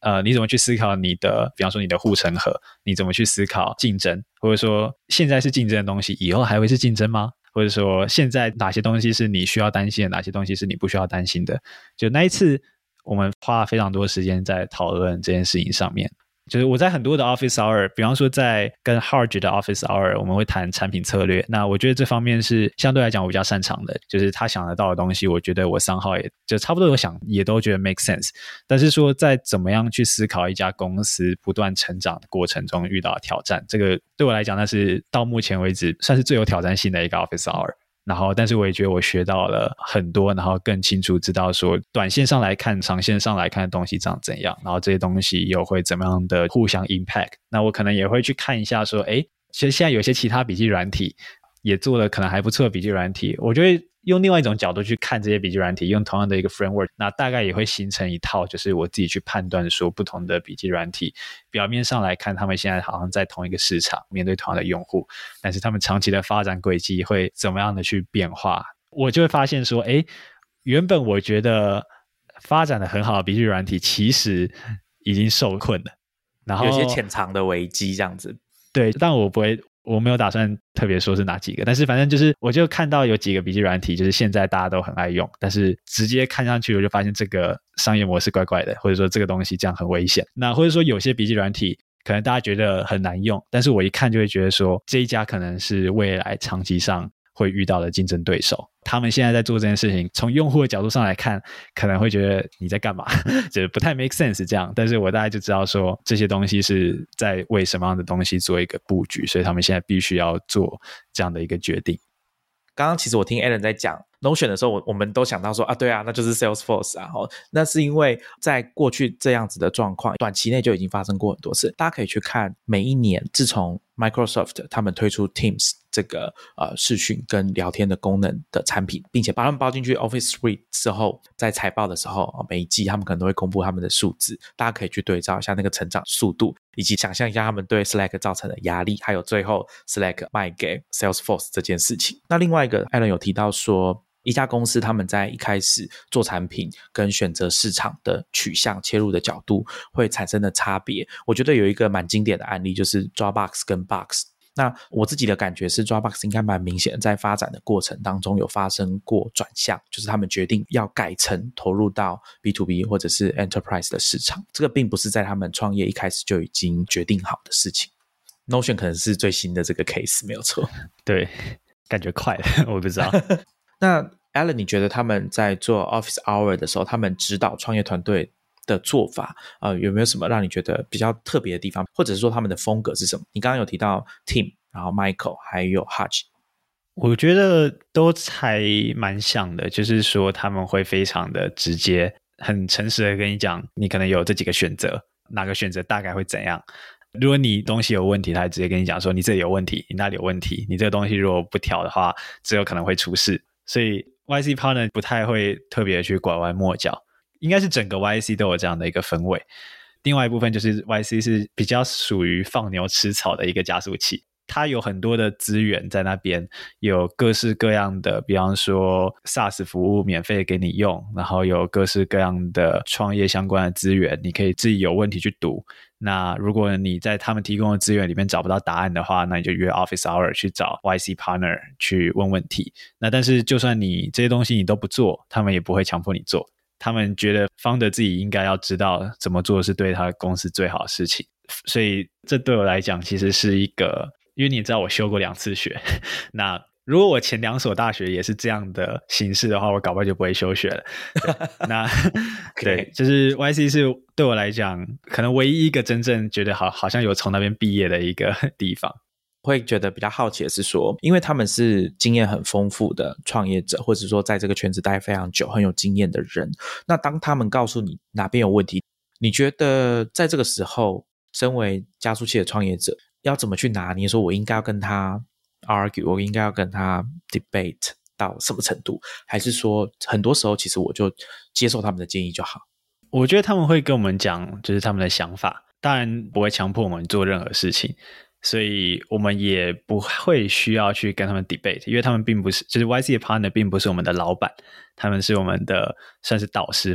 你怎么去思考你的，比方说你的护城河，你怎么去思考竞争，或者说现在是竞争的东西，以后还会是竞争吗？或者说现在哪些东西是你需要担心的，哪些东西是你不需要担心的。就那一次我们花了非常多时间在讨论这件事情上面。就是我在很多的 office hour， 比方说在跟 Harge 的 office hour 我们会谈产品策略，那我觉得这方面是相对来讲我比较擅长的，就是他想得到的东西我觉得我somehow也就差不多有想也都觉得 make sense， 但是说在怎么样去思考一家公司不断成长的过程中遇到的挑战，这个对我来讲那是到目前为止算是最有挑战性的一个 office hour。然后但是我也觉得我学到了很多，然后更清楚知道说短线上来看长线上来看的东西长怎样，然后这些东西又会怎么样的互相 impact。 那我可能也会去看一下说其实现在有些其他笔记软体也做了可能还不错的笔记软体，我就会用另外一种角度去看这些笔记软体，用同样的一个 framework， 那大概也会形成一套就是我自己去判断说不同的笔记软体表面上来看他们现在好像在同一个市场面对同样的用户，但是他们长期的发展轨迹会怎么样的去变化，我就会发现说原本我觉得发展的很好的笔记软体其实已经受困了，然后有些潜藏的危机这样子。 对，但我没有打算特别说是哪几个，但是反正就是我就看到有几个笔记软体就是现在大家都很爱用，但是直接看上去我就发现这个商业模式怪怪的，或者说这个东西这样很危险。那或者说有些笔记软体可能大家觉得很难用，但是我一看就会觉得说这一家可能是未来长期上会遇到的竞争对手，他们现在在做这件事情从用户的角度上来看可能会觉得你在干嘛就是不太 make sense 这样，但是我大概就知道说这些东西是在为什么样的东西做一个布局，所以他们现在必须要做这样的一个决定。 刚刚其实我听 Alan 在讲 Notion 的时候，我们都想到说对啊，那就是 Salesforce 啊。那是因为在过去这样子的状况短期内就已经发生过很多次，大家可以去看每一年自从 Microsoft 他们推出 Teams 这个视讯跟聊天的功能的产品，并且把他们包进去 Office Suite 之后，在财报的时候每一季他们可能都会公布他们的数字，大家可以去对照一下那个成长速度，以及想象一下他们对 Slack 造成的压力，还有最后 Slack 卖给 Salesforce 这件事情。那另外一个 Alan 有提到说一家公司他们在一开始做产品跟选择市场的取向切入的角度会产生的差别，我觉得有一个蛮经典的案例就是 Dropbox 跟 Box。那我自己的感觉是 Dropbox 应该蛮明显的在发展的过程当中有发生过转向，就是他们决定要改成投入到 B2B 或者是 Enterprise 的市场，这个并不是在他们创业一开始就已经决定好的事情。 Notion 可能是最新的这个 case 没有错。 对，感觉快了我不知道那 Alan 你觉得他们在做 Office Hour 的时候，他们指导创业团队的做法有没有什么让你觉得比较特别的地方，或者是说他们的风格是什么？你刚刚有提到 Tim 然后 Michael 还有 Hutch， 我觉得都还蛮像的，就是说他们会非常的直接很诚实的跟你讲你可能有这几个选择，哪个选择大概会怎样，如果你东西有问题他直接跟你讲说你这里有问题，你那里有问题，你这个东西如果不调的话只有可能会出事，所以 YC partner 不太会特别去拐弯抹角，应该是整个 YC 都有这样的一个氛围。另外一部分就是 YC 是比较属于放牛吃草的一个加速器，它有很多的资源在那边，有各式各样的比方说 SaaS 服务免费给你用，然后有各式各样的创业相关的资源，你可以自己有问题去读，那如果你在他们提供的资源里面找不到答案的话，那你就约 Office Hour 去找 YC Partner 去问问题。那但是就算你这些东西你都不做，他们也不会强迫你做，他们觉得 founder 自己应该要知道怎么做是对他公司最好的事情。所以这对我来讲其实是一个，因为你知道我修过2次学，那如果我前2所大学也是这样的形式的话，我搞不好就不会休学了。那对，就是 YC 是对我来讲可能唯一一个真正觉得好像有从那边毕业的一个地方。 会觉得比较好奇的是说，因为他们是经验很丰富的创业者，或者说在这个圈子待非常久很有经验的人，那当他们告诉你哪边有问题，你觉得在这个时候身为加速器的创业者要怎么去拿捏，说我应该要跟他 argue， 我应该要跟他 debate 到什么程度，还是说很多时候其实我就接受他们的建议就好？ 我觉得他们会跟我们讲就是他们的想法，当然不会强迫我们做任何事情，所以我们也不会需要去跟他们 debate， 因为他们并不是，就是 YC 的 partner 并不是我们的老板，他们是我们的算是导师吧。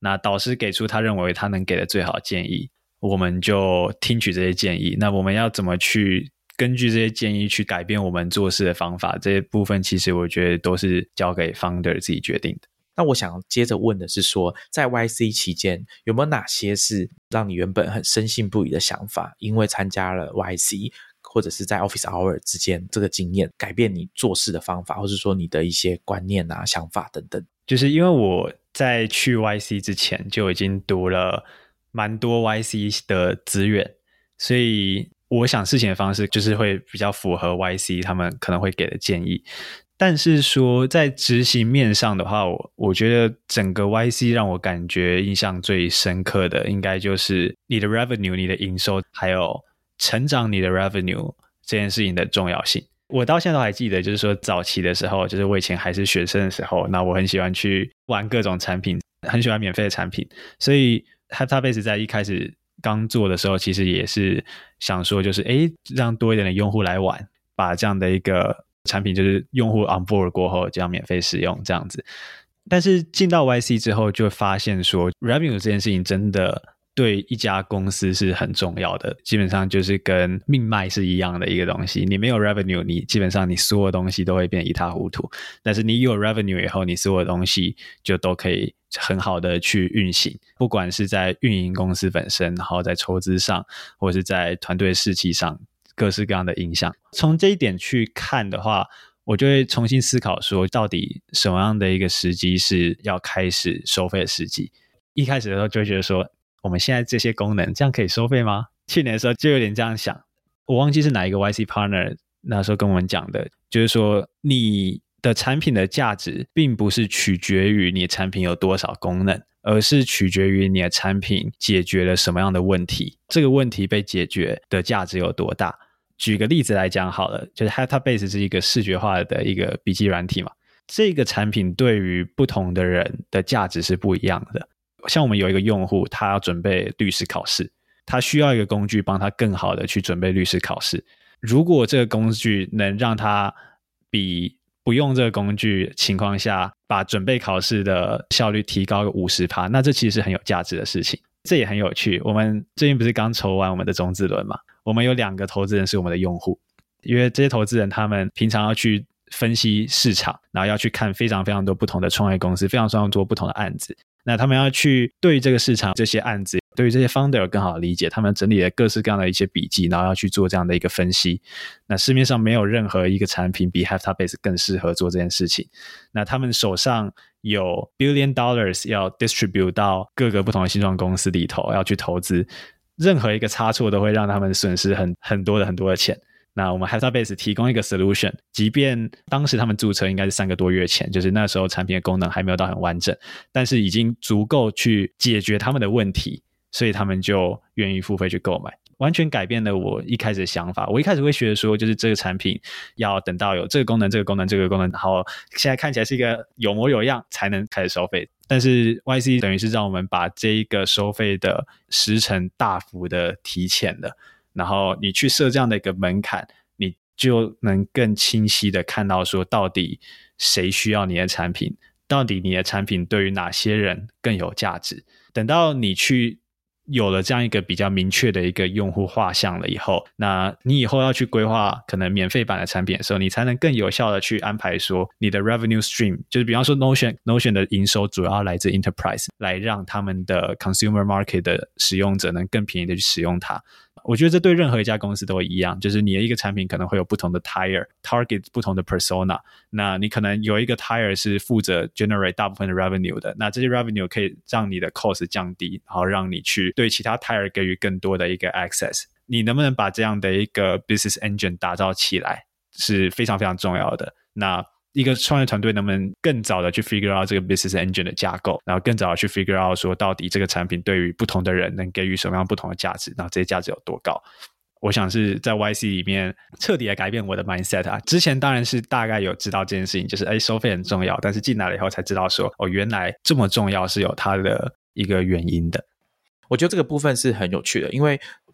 那导师给出他认为他能给的最好的建议，我们就听取这些建议。那我们要怎么去根据这些建议去改变我们做事的方法，这些部分其实我觉得都是交给 founder 自己决定的。 那我想接着问的是说，在 YC 期间有没有哪些是让你原本很深信不疑的想法，因为参加了 YC或者是在 Office Hour 之间这个经验改变你做事的方法，或是说你的一些观念啊想法等等？ 就是因为我在去 YC 之前就已经读了蛮多 YC 的资源，所以我想事情的方式就是会比较符合 YC 他们可能会给的建议。但是说在执行面上的话，我觉得整个 YC 让我感觉印象最深刻的应该就是你的 revenue 你的营收还有成长你的 revenue 这件事情的重要性。我到现在都还记得，就是说早期的时候，就是我以前还是学生的时候，那我很喜欢去玩各种产品，很喜欢免费的产品，所以 Heptabase 在一开始刚做的时候其实也是想说就是让多一点的用户来玩，把这样的一个产品就是用户 on board 过后这样免费使用这样子。但是进到 YC 之后就发现说 revenue 这件事情真的对一家公司是很重要的，基本上就是跟命脉是一样的一个东西。你没有 revenue， 你基本上你所有东西都会变一塌糊涂，但是你有 revenue 以后，你所有东西就都可以很好的去运行，不管是在运营公司本身，然后在筹资上，或是在团队士气上，各式各样的影响。从这一点去看的话，我就会重新思考说，到底什么样的一个时机是要开始收费的时机。一开始的时候就会觉得说，我们现在这些功能这样可以收费吗？去年的时候就有点这样想，我忘记是哪一个 YC partner 那时候跟我们讲的，就是说你的产品的价值并不是取决于你的产品有多少功能，而是取决于你的产品解决了什么样的问题，这个问题被解决的价值有多大。举个例子来讲好了，就是 Heptabase 是一个视觉化的一个笔记软体嘛，这个产品对于不同的人的价值是不一样的。像我们有一个用户，他要准备律师考试，他需要一个工具帮他更好的去准备律师考试。如果这个工具能让他比不用这个工具情况下把准备考试的效率提高个 50%， 那这其实是很有价值的事情。这也很有趣，我们最近不是刚筹完我们的种子轮嘛，我们有2个投资人是我们的用户，因为这些投资人他们平常要去分析市场，然后要去看非常非常多不同的创业公司，非常非常多不同的案子，那他们要去对于这个市场这些案子，对于这些 founder 有更好的理解，他们整理了各式各样的一些笔记，然后要去做这样的一个分析。那市面上没有任何一个产品比 Heptabase 更适合做这件事情。那他们手上有 $billion 要 distribute 到各个不同的新创公司里头，要去投资，任何一个差错都会让他们损失很多的钱。那我们 Heptabase 提供一个 solution， 即便当时他们注册应该是3个多月前，就是那时候产品的功能还没有到很完整，但是已经足够去解决他们的问题，所以他们就愿意付费去购买，完全改变了我一开始的想法。我一开始会觉得说，就是这个产品要等到有这个功能，然后现在看起来是一个有模有样才能开始收费。但是 YC 等于是让我们把这一个收费的时程大幅的提前了，然后你去设这样的一个门槛，你就能更清晰的看到说到底谁需要你的产品，到底你的产品对于哪些人更有价值。等到你去有了这样一个比较明确的一个用户画像了以后，那你以后要去规划可能免费版的产品的时候，你才能更有效的去安排说你的 revenue stream， 就是比方说 Notion 的营收主要来自 enterprise， 来让他们的 consumer market 的使用者能更便宜的去使用它。我觉得这对任何一家公司都一样，就是你的一个产品可能会有不同的 tier target 不同的 persona， 那你可能有一个 tier 是负责 generate 大部分的 revenue 的，那这些 revenue 可以让你的 cost 降低，然后让你去对其他 tier 给予更多的一个 access。 你能不能把这样的一个 business engine 打造起来是非常非常重要的。那一个创业团队能不能更早的去 figure out 这个 business engine 的架构，然后更早的去 figure out 说到底这个产品对于不同的人能给予什么样不同的价值，然后这些价值有多高。我想是在 YC 里面彻底的改变我的 mindset 啊。之前当然是大概有知道这件事情，就是收费很重要，但是进来了以后才知道说原来这么重要是有它的一个原因的。 我觉得这个部分是很有趣的，因为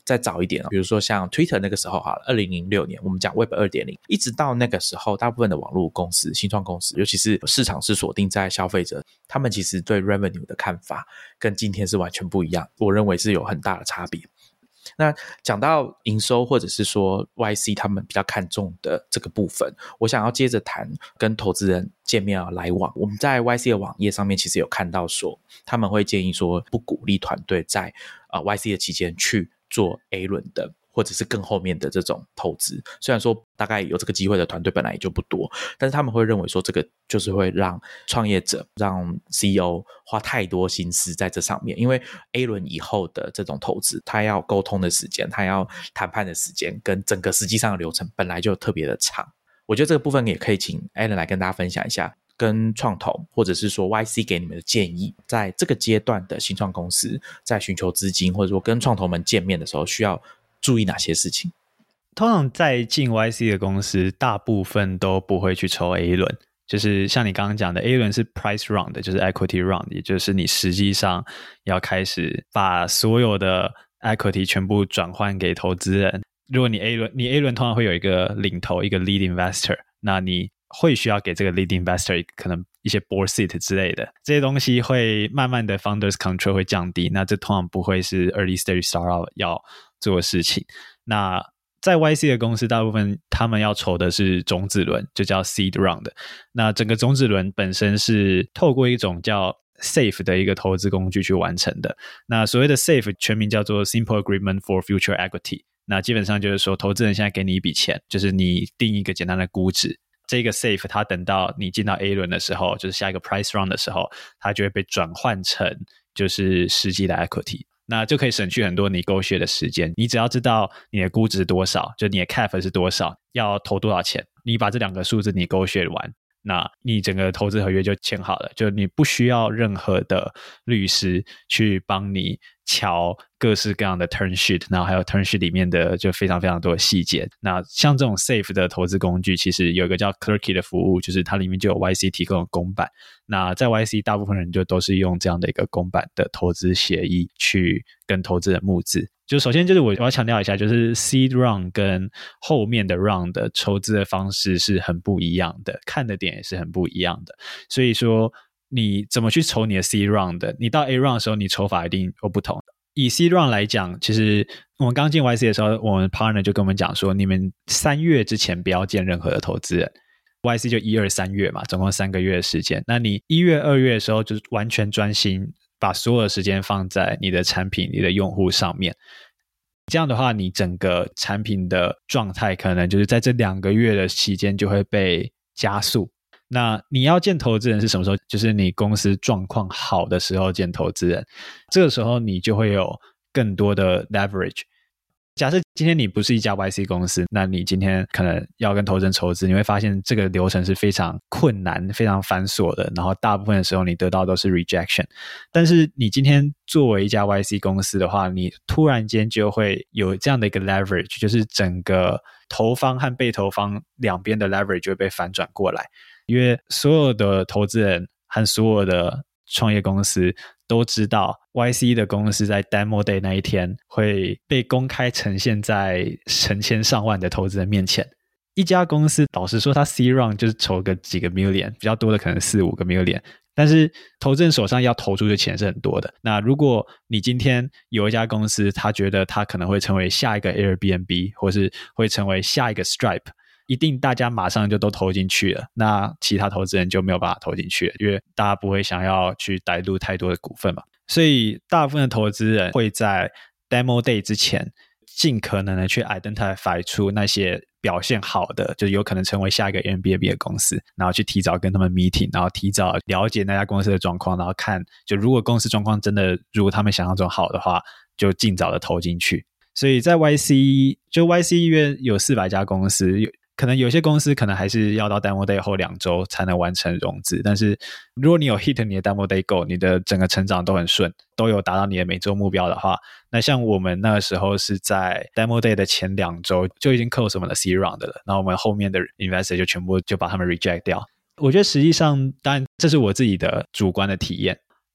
再早一点，比如说像 Twitter 那个时候好了，2006年我们讲 Web 2.0，一直到那个时候，大部分的网络公司、新创公司，尤其是市场是锁定在消费者，他们其实对 revenue 的看法跟今天是完全不一样，我认为是有很大的差别。那讲到营收或者是说 YC 他们比较看重的这个部分，我想要接着谈跟投资人见面来往。我们在 YC 的网页上面其实有看到说，他们会建议说不鼓励团队在YC 的期间去做 A 轮的或者是更后面的这种投资，虽然说大概有这个机会的团队本来也就不多，但是他们会认为说这个就是会让创业者让 CEO 花太多心思在这上面，因为 A 轮以后的这种投资他要沟通的时间，他要谈判的时间跟整个实际上的流程本来就特别的长。我觉得这个部分也可以请 Alan 来跟大家分享一下跟创投或者是说 YC 给你们的建议，在这个阶段的新创公司在寻求资金或者说跟创投们见面的时候需要注意哪些事情。 通常在进 YC 的公司大部分都不会去抽 A 轮，就是像你刚刚讲的 A 轮是 price round， 就是 equity round， 也就是你实际上要开始把所有的 equity 全部转换给投资人。如果你 A 轮通常会有一个领头，一个 lead investor， 那你会需要给这个 lead investor 可能一些 board seat 之类的，这些东西会慢慢的 founders control 会降低，那这通常不会是 early stage startup 要做的事情。那在 YC 的公司大部分他们要筹的是种子轮，就叫 seed round， 那整个种子轮本身是透过一种叫 SAFE 的一个投资工具去完成的。那所谓的 SAFE 全名叫做 Simple Agreement for Future Equity， 那基本上就是说投资人现在给你一笔钱，就是你定一个简单的估值，这个 SAFE 它等到你进到 A 轮的时候，就是下一个 price round 的时候，它就会被转换成就是实际的 equity， 那就可以省去很多negotiate 的时间。你只要知道你的估值多少，就你的 cap 是多少，要投多少钱，你把这两个数字negotiate完，那你整个投资合约就签好了，就你不需要任何的律师去帮你瞧各式各样的 term sheet， 然后还有 term sheet 里面的就非常非常多的细节。那像这种 SAFE 的投资工具其实有一个叫 Clerky 的服务，就是它里面就有 YC 提供的公版，那在 YC 大部分人就都是用这样的一个公版的投资协议去跟投资人募资。就首先就是我要强调一下，就是 seed round 跟后面的 round 的筹资的方式是很不一样的，看的点也是很不一样的。所以说你怎么去筹你的 seed round， 你到 A round 的时候你筹法一定有不同。以 seed round 来讲，其实我们刚进 YC 的时候，我们 partner 就跟我们讲说，你们3月之前不要见任何的投资人。YC 就1、2、3月嘛，总共3个月的时间。那你1月、2月的时候就是完全专心把所有的时间放在你的产品、你的用户上面。这样的话，你整个产品的状态可能就是在这2个月的期间就会被加速。那你要见投资人是什么时候？就是你公司状况好的时候见投资人，这个时候你就会有更多的 leverage。假设今天你不是一家 YC 公司，那你今天可能要跟投资人筹资，你会发现这个流程是非常困难、非常繁琐的，然后大部分的时候你得到都是 rejection。但是你今天作为一家 YC 公司的话，你突然间就会有这样的一个 leverage， 就是整个投方和被投方两边的 leverage 就会被反转过来，因为所有的投资人和所有的创业公司都知道 YC 的公司在 Demo Day 那一天会被公开呈现在成千上万的投资人面前。一家公司老实说它 C round 就是筹个几个 million， 比较多的可能4、5个 million， 但是投资人手上要投出的钱是很多的。那如果你今天有一家公司他觉得他可能会成为下一个 Airbnb 或是会成为下一个 Stripe，一定大家马上就都投进去了，那其他投资人就没有办法投进去了，因为大家不会想要去带入太多的股份嘛。所以大部分的投资人会在 Demo Day 之前尽可能的去 identify 出那些表现好的，就有可能成为下一个 Airbnb 的公司，然后去提早跟他们 meeting， 然后提早了解那家公司的状况，然后看就如果公司状况真的如果他们想象中好的话，就尽早的投进去。所以在 YC 就 YC 约有400家公司，可能有些公司可能还是要到 Demo Day 后2周才能完成融资，但是如果你有 hit 你的 Demo Day goal， 你的整个成长都很顺，都有达到你的每周目标的话，那像我们那个时候是在 Demo Day 的前2周就已经 close 我们的 C round 了，然后我们后面的 investor 就全部就把他们 reject 掉。我觉得实际上当然这是我自己的主观的体验，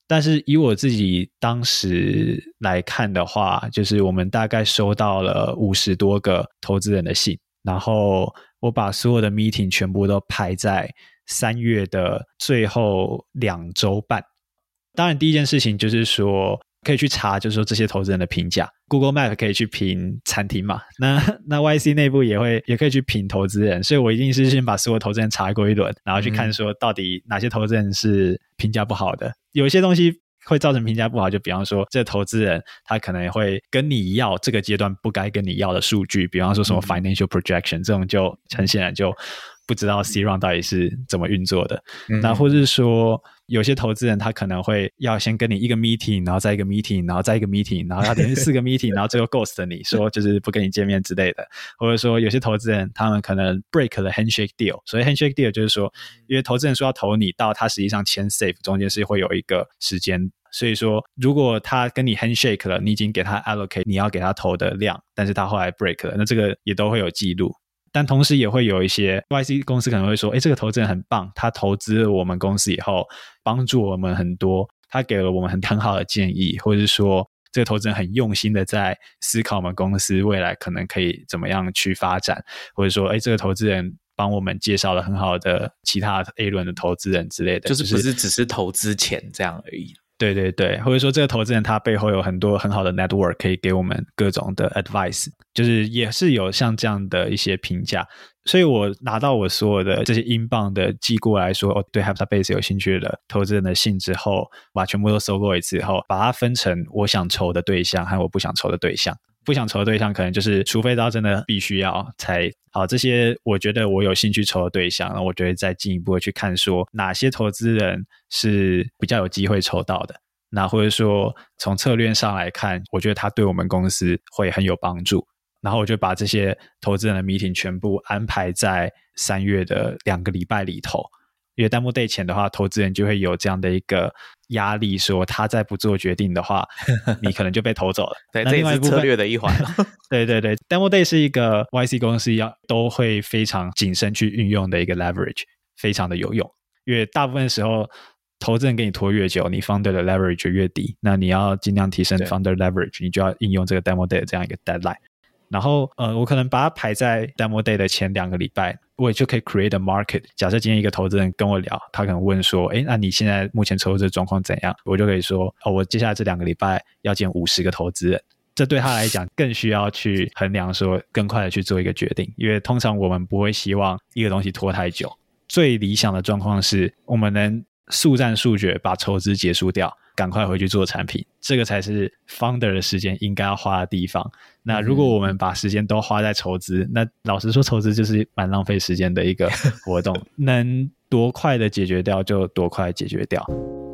但是以我自己当时来看的话，就是我们大概收到了50多个投资人的信，然后我把所有的 meeting 全部都排在3月的最后2周半。当然第一件事情就是说可以去查，就是说这些投资人的评价， Google Map 可以去评餐厅嘛，那 YC 内部也可以去评投资人，所以我一定是先把所有投资人查过一轮，然后去看说到底哪些投资人是评价不好的。有一些东西会造成评价不好，就比方说这个投资人他可能会跟你要这个阶段不该跟你要的数据，比方说什么 financial projection， 这种就很显然就不知道 C round 到底是怎么运作的。那或是说有些投资人他可能会要先跟你一个 meeting， 然后再一个 meeting， 然后再一个 meeting， 然后要连续4个 meeting， 然后最后 ghost 你说就是不跟你见面之类的。或者说有些投资人他们可能 break 了 handshake deal， 所以 handshake deal 就是说因为投资人说要投你到他实际上签 safe 中间是会有一个时间，所以说如果他跟你 handshake 了，你已经给他 allocate 你要给他投的量，但是他后来 break 了，那这个也都会有记录。但同时也会有一些 YC 公司可能会说这个投资人很棒，他投资了我们公司以后帮助我们很多，他给了我们很好的建议，或者是说这个投资人很用心的在思考我们公司未来可能可以怎么样去发展，或者说这个投资人帮我们介绍了很好的其他 A 轮的投资人之类的， 就是不是只是投资钱这样而已。 对对对，或者说这个投资人他背后有很多很好的 network 可以给我们各种的 advice， 就是也是有像这样的一些评价。所以我拿到我所有的这些英镑的寄过来说对 HeptaBase 有兴趣的投资人的信之后，把全部都收过一次以后，把它分成我想筹的对象和我不想筹的对象。不想筹的对象可能就是除非到真的必须要才好，这些我觉得我有兴趣筹的对象，然后我就会再进一步的去看说哪些投资人是比较有机会筹到的，那或者说从策略上来看我觉得他对我们公司会很有帮助，然后我就把这些投资人的 meeting 全部安排在3月的2个礼拜里头。因为 Demo Day 前的话，投资人就会有这样的一个压力，说他再不做决定的话你可能就被投走了对，这也是策略的一环对对对， Demo Day 是一个 YC 公司都会非常谨慎去运用的一个 leverage， 非常的有用。因为大部分时候投资人给你拖越久，你 founder 的 leverage 就越低，那你要尽量提升 founder leverage， 你就要应用这个 Demo Day 的这样一个 deadline。然后我可能把它排在 Demo Day 的前2个礼拜，我也就可以 create a market。 假设今天一个投资人跟我聊，他可能问说那你现在目前筹资的状况怎样，我就可以说我接下来这2个礼拜要见50个投资人。这对他来讲更需要去衡量说更快的去做一个决定，因为通常我们不会希望一个东西拖太久。最理想的状况是我们能速战速决把筹资结束掉，赶快回去做产品，这个才是 founder 的时间应该要花的地方。那如果我们把时间都花在筹资，那老实说筹资就是蛮浪费时间的一个活动能多快的解决掉就多快的解决掉。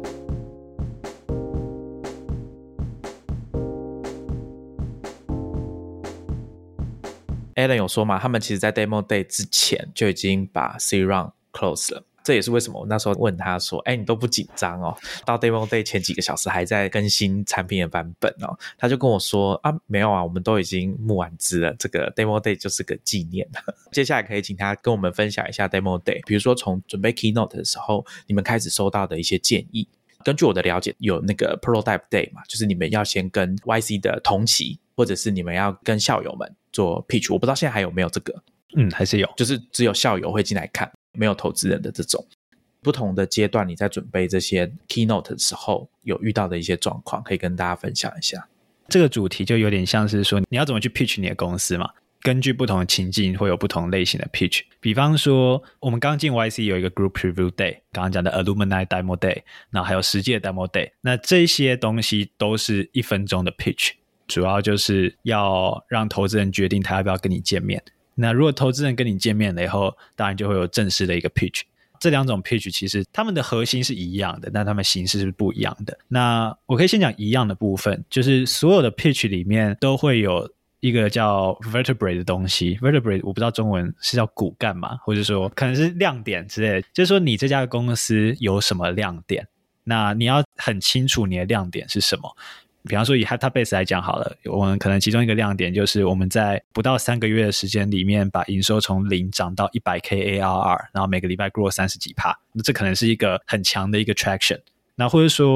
Alan 有说嘛，他们其实在 Demo Day 之前就已经把 C round close 了，这也是为什么我那时候问他说你都不紧张哦，到 Demo Day 前几个小时还在更新产品的版本哦，他就跟我说没有啊，我们都已经募完资了，这个 Demo Day 就是个纪念接下来可以请他跟我们分享一下 Demo Day， 比如说从准备 Keynote 的时候你们开始收到的一些建议。根据我的了解有那个 Prototype Day 嘛，就是你们要先跟 YC 的同期，或者是你们要跟校友们做 pitch， 我不知道现在还有没有这个。 还是有， 就是只有校友会进来看，没有投资人的这种。不同的阶段你在准备这些 keynote 的时候有遇到的一些状况可以跟大家分享一下。 这个主题就有点像是说你要怎么去 pitch 你的公司嘛，根据不同的情境会有不同类型的 pitch。 比方说我们刚进 YC 有一个 Group Preview Day， 刚刚讲的 Alumni Demo Day， 然后还有实际的 Demo Day， 那这些东西都是1分钟的 pitch， 主要就是要让投资人决定他要不要跟你见面。那如果投资人跟你见面了以后，当然就会有正式的一个 pitch。 这2种 pitch 其实他们的核心是一样的，但他们形式是不一样的。那我可以先讲一样的部分，就是所有的 pitch 里面都会有一个叫 vertebrae 的东西。 vertebrae 我不知道中文是叫骨干嘛，或者说可能是亮点之类的，就是说你这家公司有什么亮点，那你要很清楚你的亮点是什么。比方说以 HeptaBase 来讲好了，我们可能其中一个亮点就是我们在不到3个月的时间里面把营收从0涨到 100K ARR， 然后每个礼拜 grow 30几%，那这可能是一个很强的一个 traction。那或者说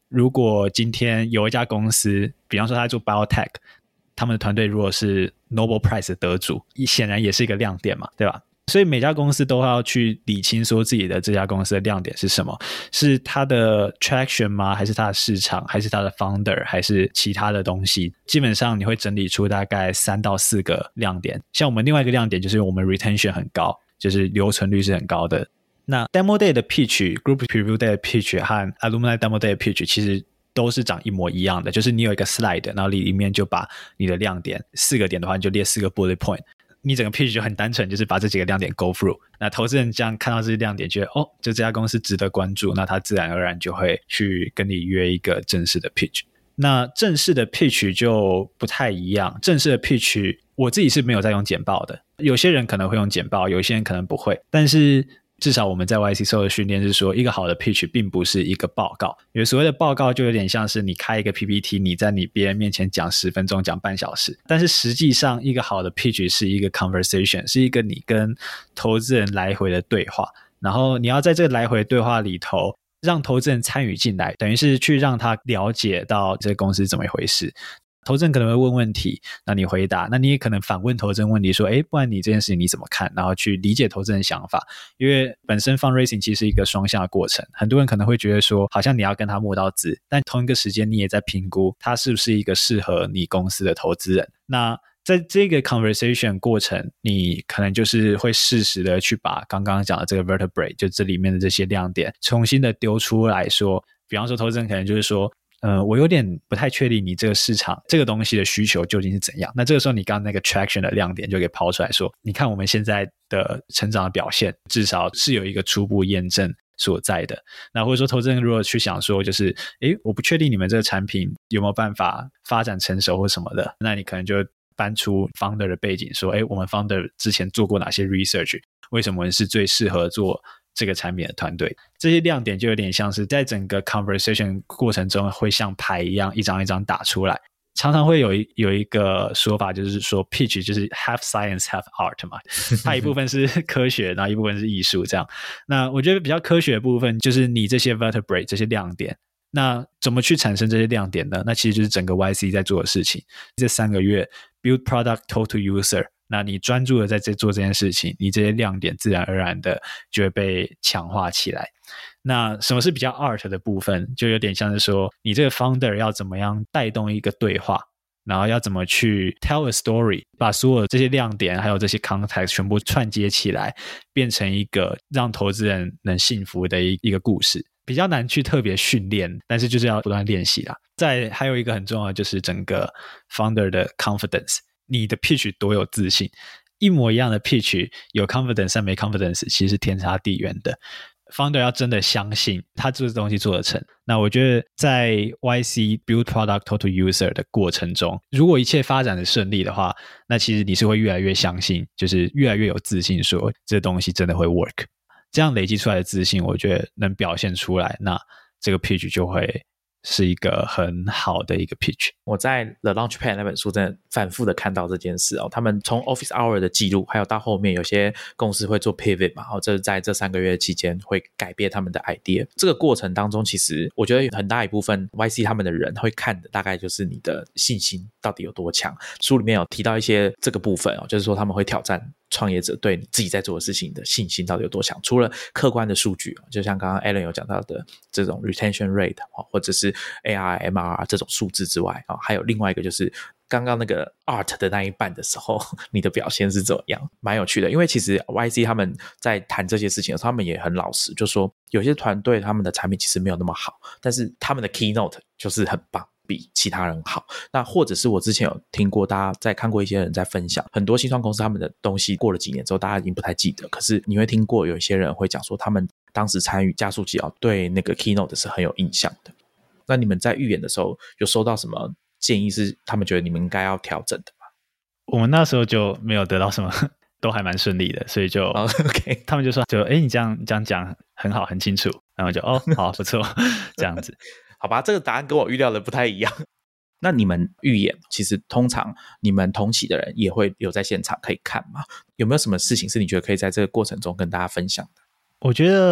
如果今天有一家公司，比方说他在做 biotech， 他们的团队如果是 Nobel Prize 的得主，显然也是一个亮点嘛，对吧？所以每家公司都要去理清说自己的这家公司的亮点是什么，是它的 traction 吗？还是它的市场？还是它的 founder？ 还是其他的东西？基本上你会整理出大概3到4个亮点。像我们另外一个亮点就是我们 retention 很高，就是留存率是很高的。那 demo day 的 pitch、group preview day 的 pitch 和 alumni demo day 的 pitch 其实都是长一模一样的，就是你有一个 slide， 然后里面就把你的亮点4个点的话，你就列4个 bullet point。你整个 pitch 就很单纯，就是把这几个亮点 go through。那投资人这样看到这些亮点，觉得就这家公司值得关注，那他自然而然就会去跟你约一个正式的 pitch。那正式的 pitch 就不太一样，正式的 pitch 我自己是没有在用简报的，有些人可能会用简报，有些人可能不会，但是至少我们在 YC 受的训练是说，一个好的 pitch 并不是一个报告，因为所谓的报告就有点像是你开一个 PPT， 你在别人面前讲10分钟，讲半小时，但是实际上一个好的 pitch 是一个 conversation， 是一个你跟投资人来回的对话，然后你要在这个来回对话里头让投资人参与进来，等于是去让他了解到这个公司是怎么一回事。投资人可能会问问题，那你回答，那你也可能反问投资人问题说，不然你这件事情你怎么看，然后去理解投资人的想法。因为本身 fundraising 其实是一个双向的过程，很多人可能会觉得说好像你要跟他摸到字，但同一个时间你也在评估他是不是一个适合你公司的投资人。那在这个 conversation 过程，你可能就是会适时的去把刚刚讲的这个 vertebrae， 就这里面的这些亮点重新的丢出来说，比方说投资人可能就是说我有点不太确定你这个市场这个东西的需求究竟是怎样。那这个时候你刚刚那个 traction 的亮点就给抛出来说，你看我们现在的成长的表现至少是有一个初步验证所在的。那或者说投资人如果去想说就是我不确定你们这个产品有没有办法发展成熟或什么的，那你可能就搬出 founder 的背景说我们 founder 之前做过哪些 research， 为什么我们是最适合做这个产品的团队。这些亮点就有点像是在整个 conversation 过程中会像牌一样一张一张打出来。常常会有一个说法，就是说 pitch 就是 half science half art 嘛，它一部分是科学，然后一部分是艺术这样。那我觉得比较科学的部分就是你这些 vertebrae 这些亮点，那怎么去产生这些亮点呢？那其实就是整个 YC 在做的事情。这3个月 build product talk to user， 那你专注的在做这件事情，你这些亮点自然而然的就会被强化起来。那什么是比较 art 的部分，就有点像是说你这个 founder 要怎么样带动一个对话，然后要怎么去 tell a story， 把所有这些亮点还有这些 context 全部串接起来，变成一个让投资人能信服的一个故事。比较难去特别训练，但是就是要不断练习啦。再还有一个很重要的就是整个 founder 的 confidence， 你的 pitch 多有自信。一模一样的 pitch 有 confidence 但没 confidence 其实是天差地远的。founder 要真的相信他这个东西做得成。那我觉得在 YC build product talk to user 的过程中，如果一切发展的顺利的话，那其实你是会越来越相信，就是越来越有自信说这东西真的会 work。这样累积出来的自信，我觉得能表现出来，那这个 pitch 就会是一个很好的一个 pitch。 我在 The Launchpad 那本书真的反复的看到这件事哦。他们从 Office Hour 的记录，还有到后面有些公司会做 pivot 嘛，这在这3个月期间会改变他们的 idea。这个过程当中，其实我觉得很大一部分 YC 他们的人会看的大概就是你的信心到底有多强。书里面有提到一些这个部分哦，就是说他们会挑战创业者对你自己在做的事情的信心到底有多强。除了客观的数据，就像刚刚 Alan 有讲到的这种 retention rate 或者是 ARR、MRR 这种数字之外，还有另外一个就是刚刚那个 art 的那一半的时候，你的表现是怎么样，蛮有趣的。因为其实 YC 他们在谈这些事情的时候，他们也很老实，就说有些团队他们的产品其实没有那么好，但是他们的 keynote 就是很棒，比其他人好。那或者是我之前有听过，大家在看过一些人在分享，很多新创公司他们的东西过了几年之后大家已经不太记得，可是你会听过有一些人会讲说他们当时参与加速器对那个 keynote 是很有印象的。那你们在预演的时候有收到什么建议是他们觉得你们应该要调整的吗？ 我们那时候就没有得到什么，都还蛮顺利的，所以就、 okay. 他们就说你这样讲很好很清楚，然后就好不错这样子。 好吧，这个答案跟我预料的不太一样。那你们预演其实通常你们同期的人也会有在现场可以看吗？有没有什么事情是你觉得可以在这个过程中跟大家分享的？ 我觉得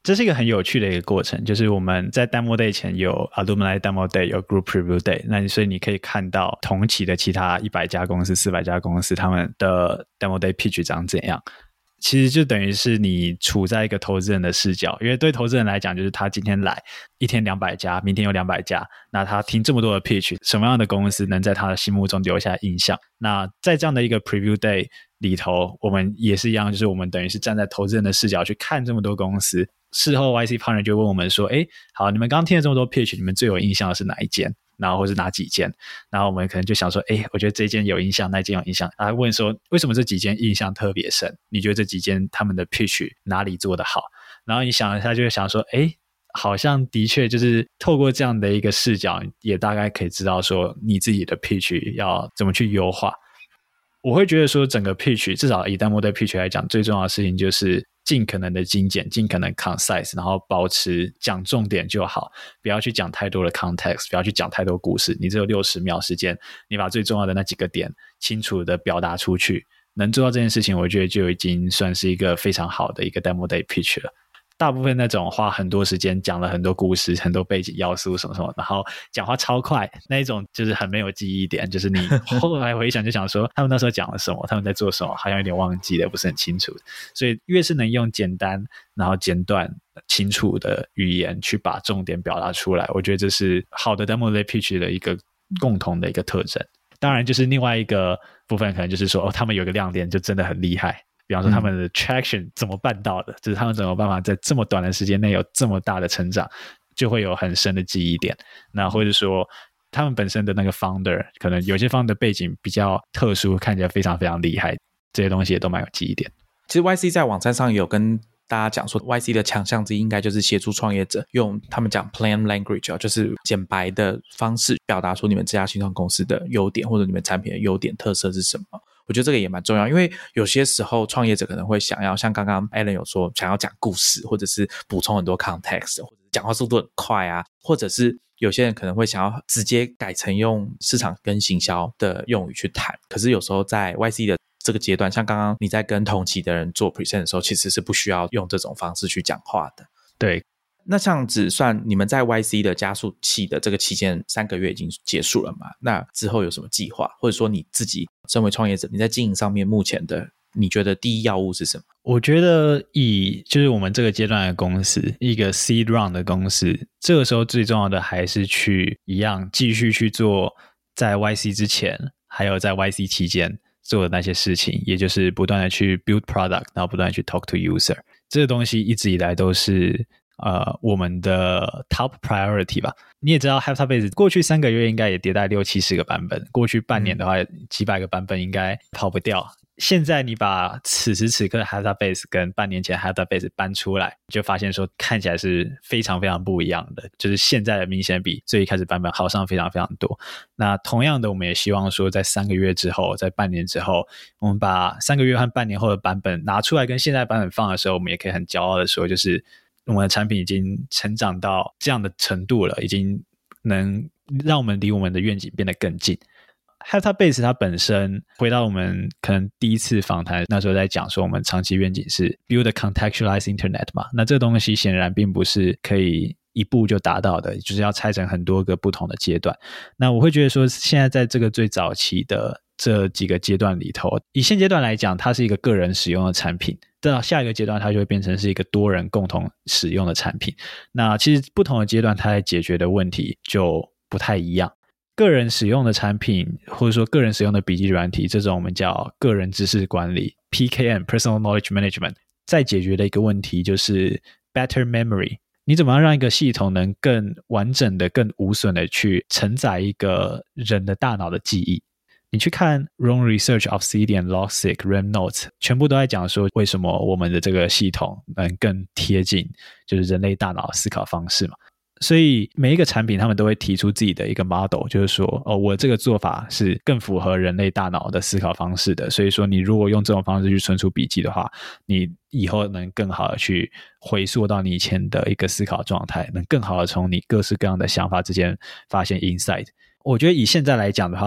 这是一个很有趣的一个过程，就是我们在 Demo Day 前有 Alumni Demo Day 有 Group Preview Day， 那所以你可以看到同期的其他100家公司400家公司他们的 Demo Day Pitch 长怎样。其实就等于是你处在一个投资人的视角，因为对投资人来讲，就是他今天来一天200家，明天有200家，那他听这么多的 pitch， 什么样的公司能在他的心目中留下印象？那在这样的一个 preview day 里头，我们也是一样，就是我们等于是站在投资人的视角去看这么多公司，事后 YC partner 就问我们说，好，你们刚刚听了这么多 pitch， 你们最有印象的是哪一间？然后或是哪几间，然后我们可能就想说，我觉得这间有印象，那间有印象。他问说，为什么这几间印象特别深？你觉得这几间他们的 pitch 哪里做得好？然后你想一下，就会想说，好像的确就是透过这样的一个视角，也大概可以知道说你自己的 pitch 要怎么去优化。我会觉得说，整个 pitch 至少以 Demo Day pitch 来讲，最重要的事情就是尽可能的精简，尽可能 concise， 然后保持讲重点就好，不要去讲太多的 context， 不要去讲太多故事。你只有60秒时间，你把最重要的那几个点清楚的表达出去，能做到这件事情，我觉得就已经算是一个非常好的一个 Demo Day pitch 了。大部分那种花很多时间讲了很多故事很多背景要素什么什么，然后讲话超快那一种，就是很没有记忆点，就是你后来回想就想说他们那时候讲了什么，他们在做什么，好像有点忘记了，不是很清楚。所以越是能用简单然后简短清楚的语言去把重点表达出来，我觉得这是好的 Demo Day Pitch 的一个共同的一个特征。当然就是另外一个部分可能就是说，他们有个亮点就真的很厉害，比方说他们的 traction 怎么办到的，就是他们怎么办法在这么短的时间内有这么大的成长，就会有很深的记忆点。那或者说他们本身的那个 founder， 可能有些 founder 背景比较特殊，看起来非常非常厉害，这些东西也都蛮有记忆点。 其实 YC 在网站上也有跟大家讲说， YC 的强项之一应该就是协助创业者用他们讲 plain language， 就是简白的方式表达出你们这家新创公司的优点，或者你们产品的优点特色是什么。我觉得这个也蛮重要，因为有些时候创业者可能会想要像刚刚 Alan 有说想要讲故事，或者是补充很多 context， 或者讲话速度很快啊，或者是有些人可能会想要直接改成用市场跟行销的用语去谈。可是有时候在 YC 的这个阶段，像刚刚你在跟同期的人做 present 的时候，其实是不需要用这种方式去讲话的。 对， 那这样子算你们在 YC 的加速器的这个期间3个月已经结束了嘛？那之后有什么计划？或者说你自己身为创业者，你在经营上面目前的你觉得第一要务是什么？ 我觉得就是我们这个阶段的公司，一个 seed round 的公司，这个时候最重要的还是去一样继续去做在 YC 之前还有在 YC 期间做的那些事情，也就是不断的去 build product， 然后不断的去 talk to user。 这个东西一直以来都是我们的 top priority 吧。你也知道 Heptabase 过去3个月应该也迭代60-70个版本，过去半年的话几百个版本应该跑不掉。现在你把此时此刻的 Heptabase 跟半年前 Heptabase 搬出来，就发现说看起来是非常非常不一样的，就是现在的明显比最一开始版本好上非常非常多。那同样的我们也希望说在3个月之后，在半年之后，我们把3个月和半年后的版本拿出来跟现在版本放的时候，我们也可以很骄傲的说，就是我们的产品已经成长到这样的程度了，已经能让我们离我们的愿景变得更近。Heptabase 它本身回到我们可能第一次访谈那时候在讲说，我们长期愿景是 build a contextualized internet 嘛，那这个东西显然并不是可以一步就达到的，就是要拆成很多个不同的阶段。那我会觉得说，现在在这个最早期的这几个阶段里头，以现阶段来讲，它是一个个人使用的产品，到下一个阶段它就会变成是一个多人共同使用的产品。那其实不同的阶段它在解决的问题就不太一样。个人使用的产品，或者说个人使用的笔记软体，这种我们叫个人知识管理 PKM Personal Knowledge Management， 在解决的一个问题就是 better memory。 你怎么样让一个系统能更完整的更无损的去承载一个人的大脑的记忆。你去看 Roam Research、Obsidian、Logseq、RAM Notes， 全部都在讲说为什么我们的这个系统能更贴近就是人类大脑的思考方式嘛。所以每一个产品他们都会提出自己的一个 model， 就是说我这个做法是更符合人类大脑的思考方式的，所以说你如果用这种方式去存储笔记的话，你以后能更好的去回溯到你以前的一个思考状态，能更好的从你各式各样的想法之间发现 insight。 我觉得以现在来讲的话，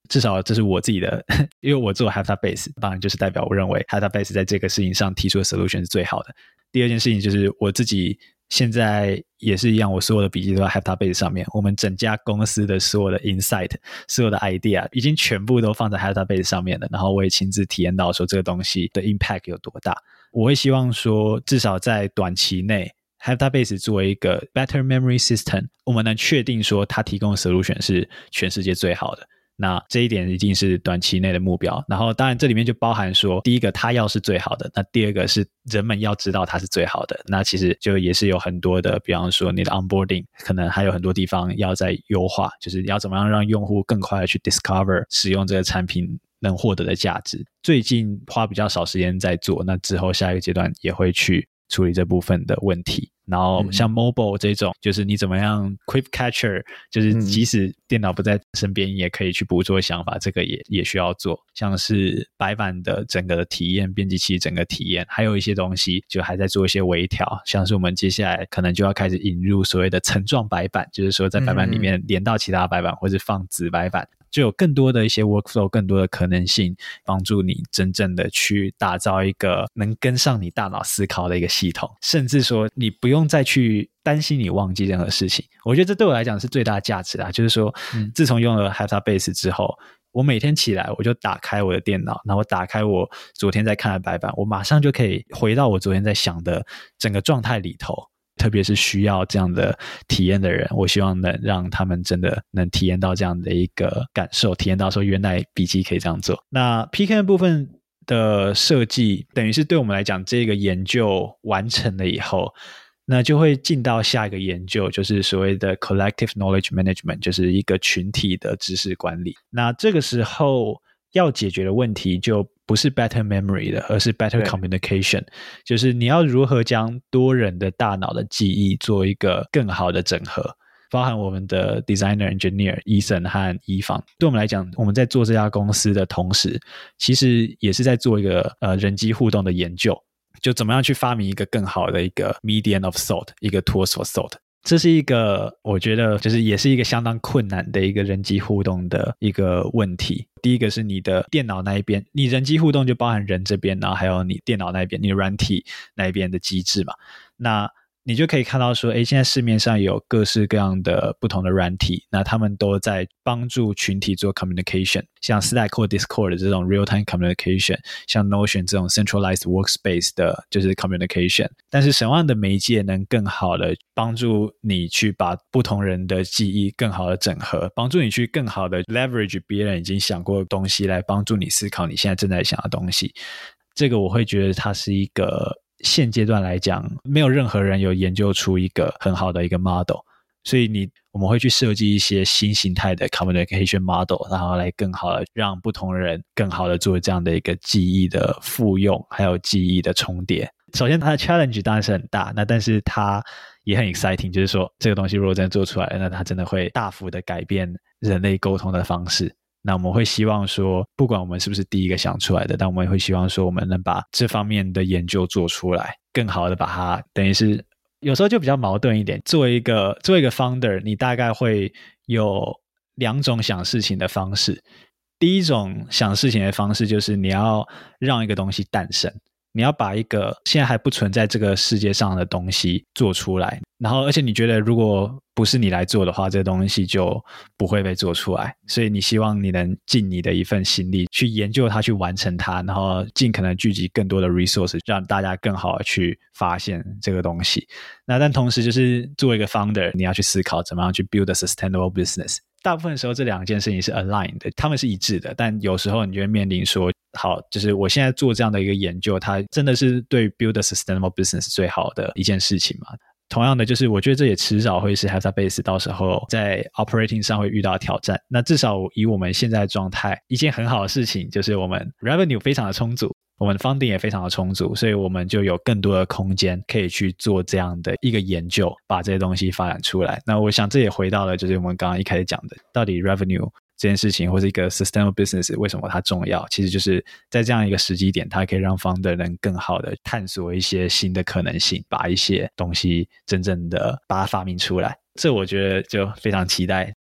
至少这是我自己的因为我做 HaftarBase 当然就是代表我认为 HaftarBase 在这个事情上提出的 solution 是最好的。第二件事情就是我自己现在也是一样，我所有的笔记都在 HaftarBase 上面，我们整家公司的所有的 insight 所有的 idea 已经全部都放在 HaftarBase 上面了，然后我也亲自体验到说这个东西的 impact 有多大。我会希望说至少在短期内HaftarBase 作为一个 better memory system， 我们能确定说它提供的 solution 是全世界最好的，那这一点一定是短期内的目标。然后当然这里面就包含说第一个它要是最好的，那第二个是人们要知道它是最好的，那其实就也是有很多的，比方说你的 onboarding 可能还有很多地方要再优化，就是要怎么样让用户更快的去 discover 使用这个产品能获得的价值。最近花比较少时间在做，那之后下一个阶段也会去处理这部分的问题。然后像 mobile 这种就是你怎么样 quick catcher， 就是即使电脑不在身边也可以去捕捉想法，这个也需要做。像是白板的整个的体验，编辑器整个体验，还有一些东西就还在做一些微调，像是我们接下来可能就要开始引入所谓的层状白板，就是说在白板里面连到其他白板或是放子白板，就有更多的一些 workflow， 更多的可能性帮助你真正的去打造一个能跟上你大脑思考的一个系统，甚至说你不用再去担心你忘记任何事情。我觉得这对我来讲是最大的价值啦，就是说自从用了 HaftarBase 之后，我每天起来我就打开我的电脑，然后打开我昨天在看的白板，我马上就可以回到我昨天在想的整个状态里头。特别是需要这样的体验的人，我希望能让他们真的能体验到这样的一个感受，体验到说原来笔记可以这样做。那 PK 部分的设计等于是对我们来讲，这个研究完成了以后，那就会进到下一个研究，就是所谓的 collective knowledge management， 就是一个群体的知识管理。那这个时候要解决的问题就不是 better memory 的，而是 better communication， 就是你要如何将多人的大脑的记忆做一个更好的整合，包含我们的 designer engineer Ethan 和伊芳。对我们来讲，我们在做这家公司的同时，其实也是在做一个人机互动的研究，就怎么样去发明一个更好的一个 medium of thought， 一个 tools for thought。这是一个我觉得就是也是一个相当困难的一个人机互动的一个问题。第一个是你的电脑那一边，你人机互动就包含人这边，然后还有你电脑那一边，你的软体那一边的机制嘛。那你就可以看到说现在市面上有各式各样的不同的软体，那他们都在帮助群体做 communication， 像 Slack 或 Discord 的这种 real-time communication， 像 Notion 这种 centralized workspace 的就是 communication。 但是什么样的媒介能更好的帮助你去把不同人的记忆更好的整合，帮助你去更好的 leverage 别人已经想过的东西来帮助你思考你现在正在想的东西。这个我会觉得它是一个现阶段来讲没有任何人有研究出一个很好的一个 model， 所以我们会去设计一些新形态的 communication model， 然后来更好的让不同人更好的做这样的一个记忆的复用还有记忆的重叠。首先它的 challenge 当然是很大，那但是它也很 exciting， 就是说这个东西如果真的做出来了，那它真的会大幅的改变人类沟通的方式。那我们会希望说不管我们是不是第一个想出来的，但我们会希望说我们能把这方面的研究做出来，更好的把它等于是有时候就比较矛盾一点，作为一个 founder， 你大概会有两种想事情的方式。第一种想事情的方式就是你要让一个东西诞生，你要把一个现在还不存在这个世界上的东西做出来，然后而且你觉得如果不是你来做的话，这个东西就不会被做出来，所以你希望你能尽你的一份心力去研究它，去完成它，然后尽可能聚集更多的 resources， 让大家更好的去发现这个东西。那但同时就是作为一个 founder， 你要去思考怎么样去 build a sustainable business。大部分时候这两件事情是 aligned 的，他们是一致的，但有时候你就会面临说好，就是我现在做这样的一个研究，它真的是对 build a sustainable business 最好的一件事情吗？同样的，就是我觉得这也迟早会是 HaftarBase 到时候在 operating 上会遇到挑战。那至少以我们现在的状态，一件很好的事情就是我们 revenue 非常的充足，我们 funding 也非常的充足，所以我们就有更多的空间可以去做这样的一个研究，把这些东西发展出来。那我想这也回到了就是我们刚刚一开始讲的，到底 revenue 这件事情或是一个 sustainable business 为什么它重要，其实就是在这样一个时机点，它可以让 founder 能更好的探索一些新的可能性，把一些东西真正的把它发明出来。这我觉得就非常期待。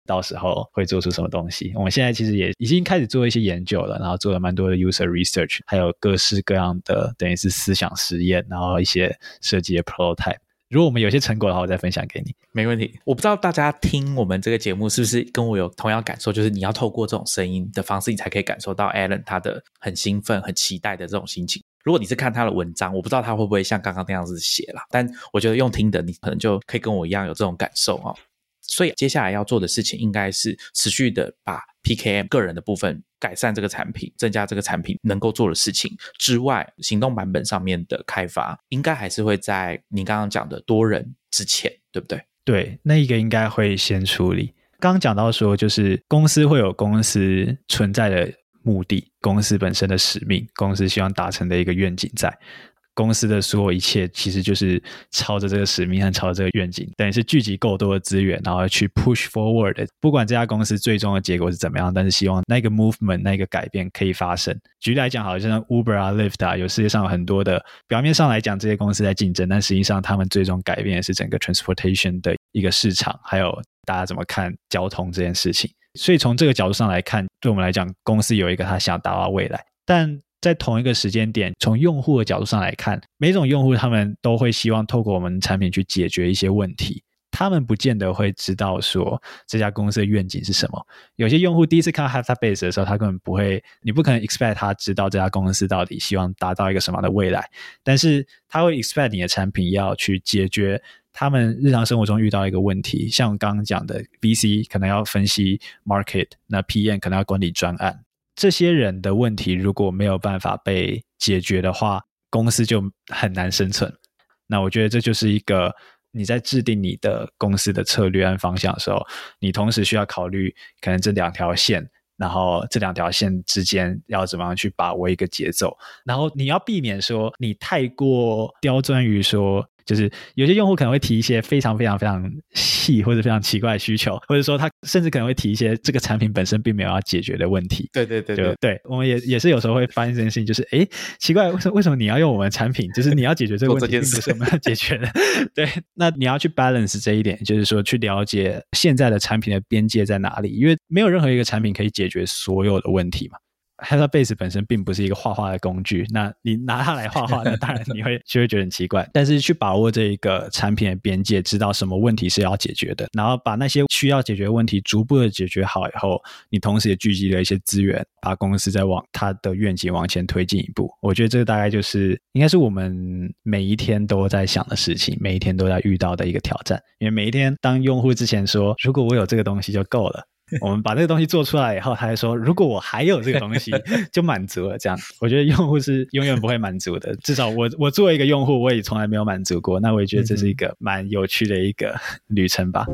到时候会做出什么东西。我们现在其实也已经开始做一些研究了，然后做了蛮多的 user research， 还有各式各样的等于是思想实验，然后一些设计的 prototype。如果我们有些成果的话，我再分享给你。 没问题。我不知道大家听我们这个节目是不是跟我有同样感受，就是你要透过这种声音的方式，你才可以感受到 Alan 他的很兴奋很期待的这种心情。如果你是看他的文章，我不知道他会不会像刚刚那样子写啦，但我觉得用听的你可能就可以跟我一样有这种感受哦。所以接下来要做的事情应该是持续的把 PKM 个人的部分改善这个产品，增加这个产品能够做的事情之外，行动版本上面的开发应该还是会在你刚刚讲的多人之前，对不对？ 对，那一个应该会先处理。刚刚讲到说，就是公司会有公司存在的目的，公司本身的使命，公司希望达成的一个愿景在。公司的所有一切其实就是朝着这个使命和朝着这个愿景，等于是聚集够多的资源，然后去 push forward。 不管这家公司最终的结果是怎么样，但是希望那个 movement 那个改变可以发生。举例来讲，好像 Uber 啊 Lyft 啊，有世界上有很多的，表面上来讲这些公司在竞争，但实际上他们最终改变的是整个 transportation 的一个市场，还有大家怎么看交通这件事情。所以从这个角度上来看，对我们来讲，公司有一个他想达到未来，但在同一个时间点，从用户的角度上来看，每种用户他们都会希望透过我们产品去解决一些问题，他们不见得会知道说这家公司的愿景是什么。有些用户第一次看到 HeptaBase 的时候，他根本不会，你不可能 expect 他知道这家公司到底希望达到一个什么样的未来，但是他会 expect 你的产品要去解决他们日常生活中遇到一个问题。像我刚刚讲的 VC 可能要分析 market， 那 PM 可能要管理专案，这些人的问题如果没有办法被解决的话，公司就很难生存。那我觉得这就是一个你在制定你的公司的策略和方向的时候，你同时需要考虑可能这两条线，然后这两条线之间要怎么样去把握一个节奏，然后你要避免说你太过刁钻于说，就是有些用户可能会提一些非常非常非常细或者非常奇怪的需求，或者说他甚至可能会提一些这个产品本身并没有要解决的问题。 对对对对对，我们也是有时候会发现这件事情，就是奇怪，为什么你要用我们的产品，就是你要解决这个问题并不是我们要解决的。对，那你要去 balance 这一点，就是说去了解现在的产品的边界在哪里，因为没有任何一个产品可以解决所有的问题嘛。HeptaBase 本身并不是一个画画的工具，那你拿它来画画呢，当然你就会觉得很奇怪。但是去把握这一个产品的边界，知道什么问题是要解决的，然后把那些需要解决的问题逐步的解决好以后，你同时也聚集了一些资源，把公司再往它的愿景往前推进一步。我觉得这个大概就是应该是我们每一天都在想的事情，每一天都在遇到的一个挑战。因为每一天当用户之前说如果我有这个东西就够了，我们把这个东西做出来以后，他还说如果我还有这个东西就满足了。这样我觉得用户是永远不会满足的，至少我作为一个用户我也从来没有满足过。那我也觉得这是一个蛮有趣的一个旅程吧。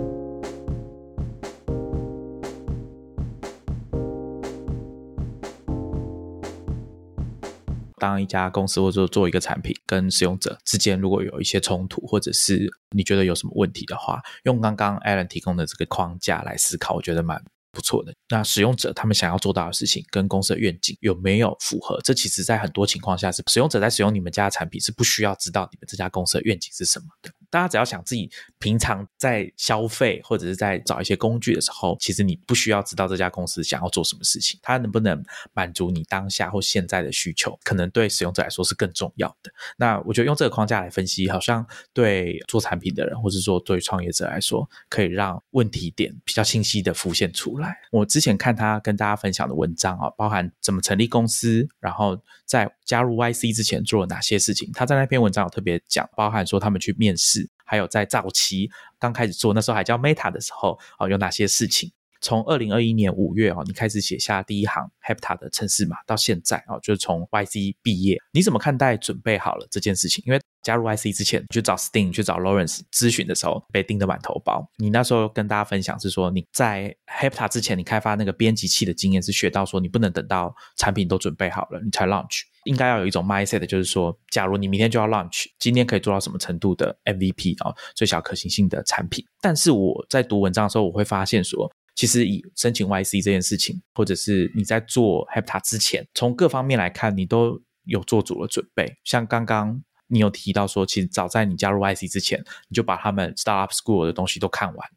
当一家公司或者做一个产品跟使用者之间如果有一些冲突，或者是你觉得有什么问题的话，用刚刚 Alan 提供的这个框架来思考，我觉得蛮不错的。那使用者他们想要做到的事情跟公司的愿景有没有符合，这其实在很多情况下是使用者在使用你们家的产品是不需要知道你们这家公司的愿景是什么的。大家只要想自己平常在消费或者是在找一些工具的时候，其实你不需要知道这家公司想要做什么事情，它能不能满足你当下或现在的需求，可能对使用者来说是更重要的。那我觉得用这个框架来分析，好像对做产品的人或是说对创业者来说，可以让问题点比较清晰的浮现出来。我之前看他跟大家分享的文章包含怎么成立公司，然后在加入 YC 之前做了哪些事情，他在那篇文章有特别讲，包含说他们去面试，还有在早期刚开始做那时候还叫 Meta 的时候有哪些事情。从2021年5月你开始写下第一行 Hepta 的程式码到现在就是从 YC 毕业，你怎么看待准备好了这件事情？因为加入 YC 之前去找 Sting 去找 Lawrence 咨询的时候被盯得满头包，你那时候跟大家分享是说你在 Hepta 之前你开发那个编辑器的经验是学到说你不能等到产品都准备好了你才 launch， 应该要有一种 mindset， 就是说假如你明天就要 launch， 今天可以做到什么程度的 MVP 最小可行性的产品。但是我在读文章的时候我会发现说，其实以申请 YC 这件事情，或者是你在做 Hepta 之前，从各方面来看你都有做足了准备。像刚刚你有提到说，其实早在你加入 YC 之前，你就把他们 Startup School 的东西都看完了。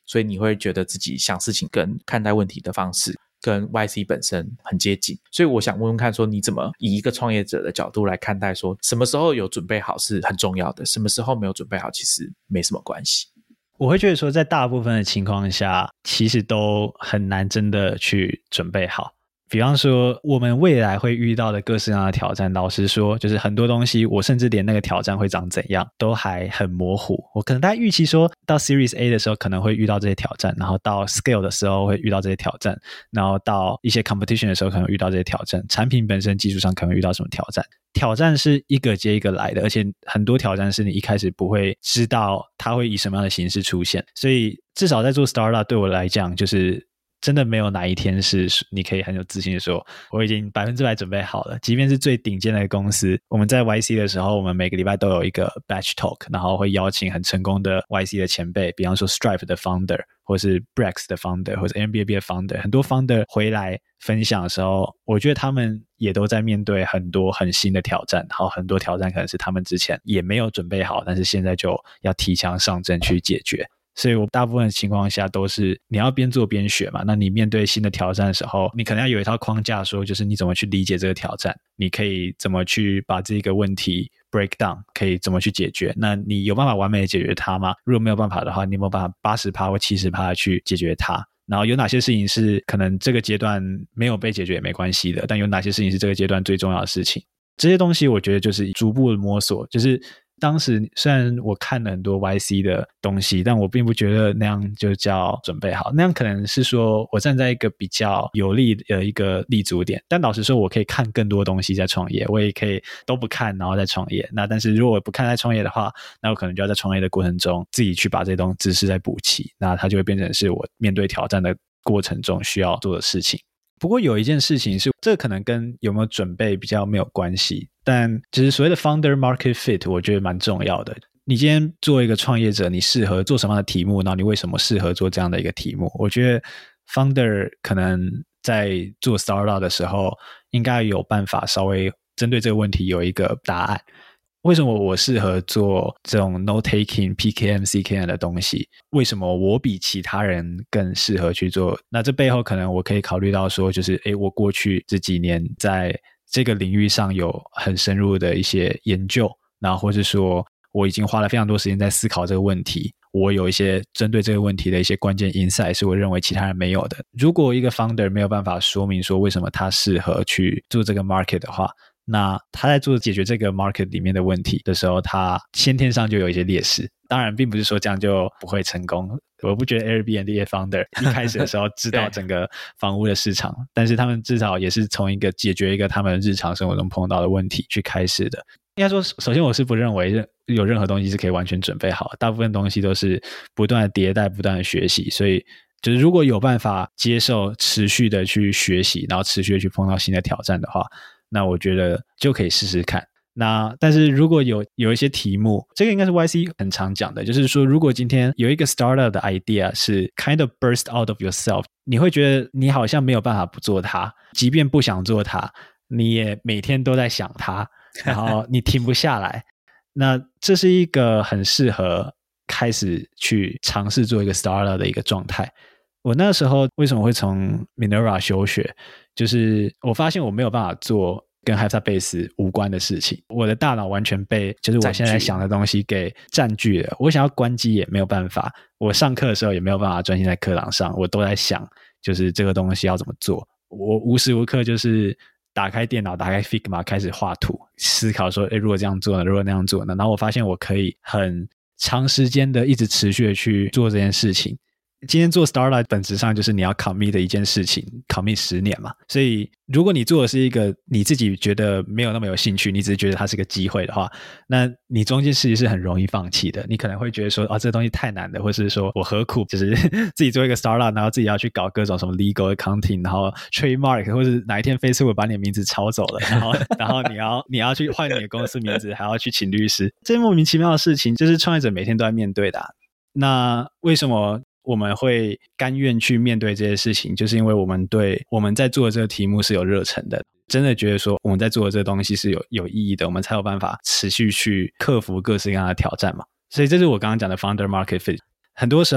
所以你会觉得自己想事情跟看待问题的方式跟 YC 本身很接近。所以我想问问看说，你怎么以一个创业者的角度来看待说什么时候有准备好是很重要的，什么时候没有准备好其实没什么关系。 我会觉得说在大部分的情况下其实都很难真的去准备好。比方说我们未来会遇到的各式各样的挑战，老实说就是很多东西我甚至连那个挑战会长怎样都还很模糊。我可能大概预期说到 Series A 的时候可能会遇到这些挑战，然后到 Scale 的时候会遇到这些挑战，然后到一些 Competition 的时候可能遇到这些挑战，产品本身技术上可能遇到什么挑战。挑战是一个接一个来的，而且很多挑战是你一开始不会知道它会以什么样的形式出现。所以至少在做 Startup 对我来讲就是真的没有哪一天是你可以很有自信的说我已经100%准备好了。即便是最顶尖的公司，我们在 YC 的时候我们每个礼拜都有一个 Batch Talk， 然后会邀请很成功的 YC 的前辈，比方说 Stripe 的 Founder 或是 Brex 的 Founder 或者 Airbnb 的 Founder， 很多 Founder 回来分享的时候，我觉得他们也都在面对很多很新的挑战，然后很多挑战可能是他们之前也没有准备好，但是现在就要提枪上阵去解决。所以我大部分的情况下都是你要边做边学嘛，那你面对新的挑战的时候，你可能要有一套框架说就是你怎么去理解这个挑战，你可以怎么去把这个问题 break down， 可以怎么去解决。那你有办法完美的解决它吗？如果没有办法的话，你有没有办法 80% 或 70% 去解决它？然后有哪些事情是可能这个阶段没有被解决也没关系的，但有哪些事情是这个阶段最重要的事情？这些东西我觉得就是逐步的摸索。就是当时虽然我看了很多 YC 的东西，但我并不觉得那样就叫准备好，那样可能是说我站在一个比较有利的一个立足点。但老实说我可以看更多东西在创业，我也可以都不看然后再创业。那但是如果我不看再创业的话，那我可能就要在创业的过程中自己去把这些东西知识再补齐，那它就会变成是我面对挑战的过程中需要做的事情。不过有一件事情是，这可能跟有没有准备比较没有关系，但就是所谓的 founder market fit 我觉得蛮重要的。你今天作为一个创业者，你适合做什么样的题目，然后你为什么适合做这样的一个题目，我觉得 founder 可能在做 startup 的时候应该有办法稍微针对这个问题有一个答案。为什么我适合做这种 note-taking、PKM、CKM 的东西？为什么我比其他人更适合去做？那这背后可能我可以考虑到说，就是我过去这几年在这个领域上有很深入的一些研究，然后或是说我已经花了非常多时间在思考这个问题，我有一些针对这个问题的一些关键 insight 是我认为其他人没有的。如果一个 founder 没有办法说明说为什么他适合去做这个 market 的话，那他在做解决这个 market 里面的问题的时候，他先天上就有一些劣势。当然并不是说这样就不会成功，我不觉得 Airbnb 的 founder 一开始的时候知道整个房屋的市场但是他们至少也是从一个解决一个他们日常生活中碰到的问题去开始的。应该说首先我是不认为有任何东西是可以完全准备好的，大部分东西都是不断的迭代不断的学习。所以就是如果有办法接受持续的去学习，然后持续的去碰到新的挑战的话，那我觉得就可以试试看。那但是如果有一些题目，这个应该是 YC 很常讲的，就是说如果今天有一个 startup 的 idea 是 kind of burst out of yourself， 你会觉得你好像没有办法不做它，即便不想做它你也每天都在想它，然后你停不下来那这是一个很适合开始去尝试做一个 startup 的一个状态。我那时候为什么会从 Minerva 休学，就是我发现我没有办法做跟 Hypstabase 无关的事情，我的大脑完全被就是我现在想的东西给占据了，我想要关机也没有办法，我上课的时候也没有办法专心在课堂上，我都在想就是这个东西要怎么做。我无时无刻就是打开电脑打开 Figma 开始画图，思考说如果这样做呢，如果那样做呢，然后我发现我可以很长时间的一直持续的去做这件事情。今天做 startup 本质上就是你要 commit 的一件事情 commit 10年嘛，所以如果你做的是一个你自己觉得没有那么有兴趣，你只是觉得它是个机会的话，那你中间其实是很容易放弃的。你可能会觉得说这个东西太难了，或是说我何苦就是自己做一个 startup 然后自己要去搞各种什么 legal accounting 然后 trademark 或是哪一天 Facebook 把你的名字抄走了，然后你要去换你的公司名字还要去请律师，这些莫名其妙的事情就是创业者每天都在面对的那为什么我们会甘愿去面对这些事情，就是因为我们对我们在做的这个题目是有热忱的，真的觉得说我们在做的这个东西是有意义的，我们才有办法持续去克服各式各样的挑战嘛。所以这是我刚刚讲的 founder market fit。 很多时候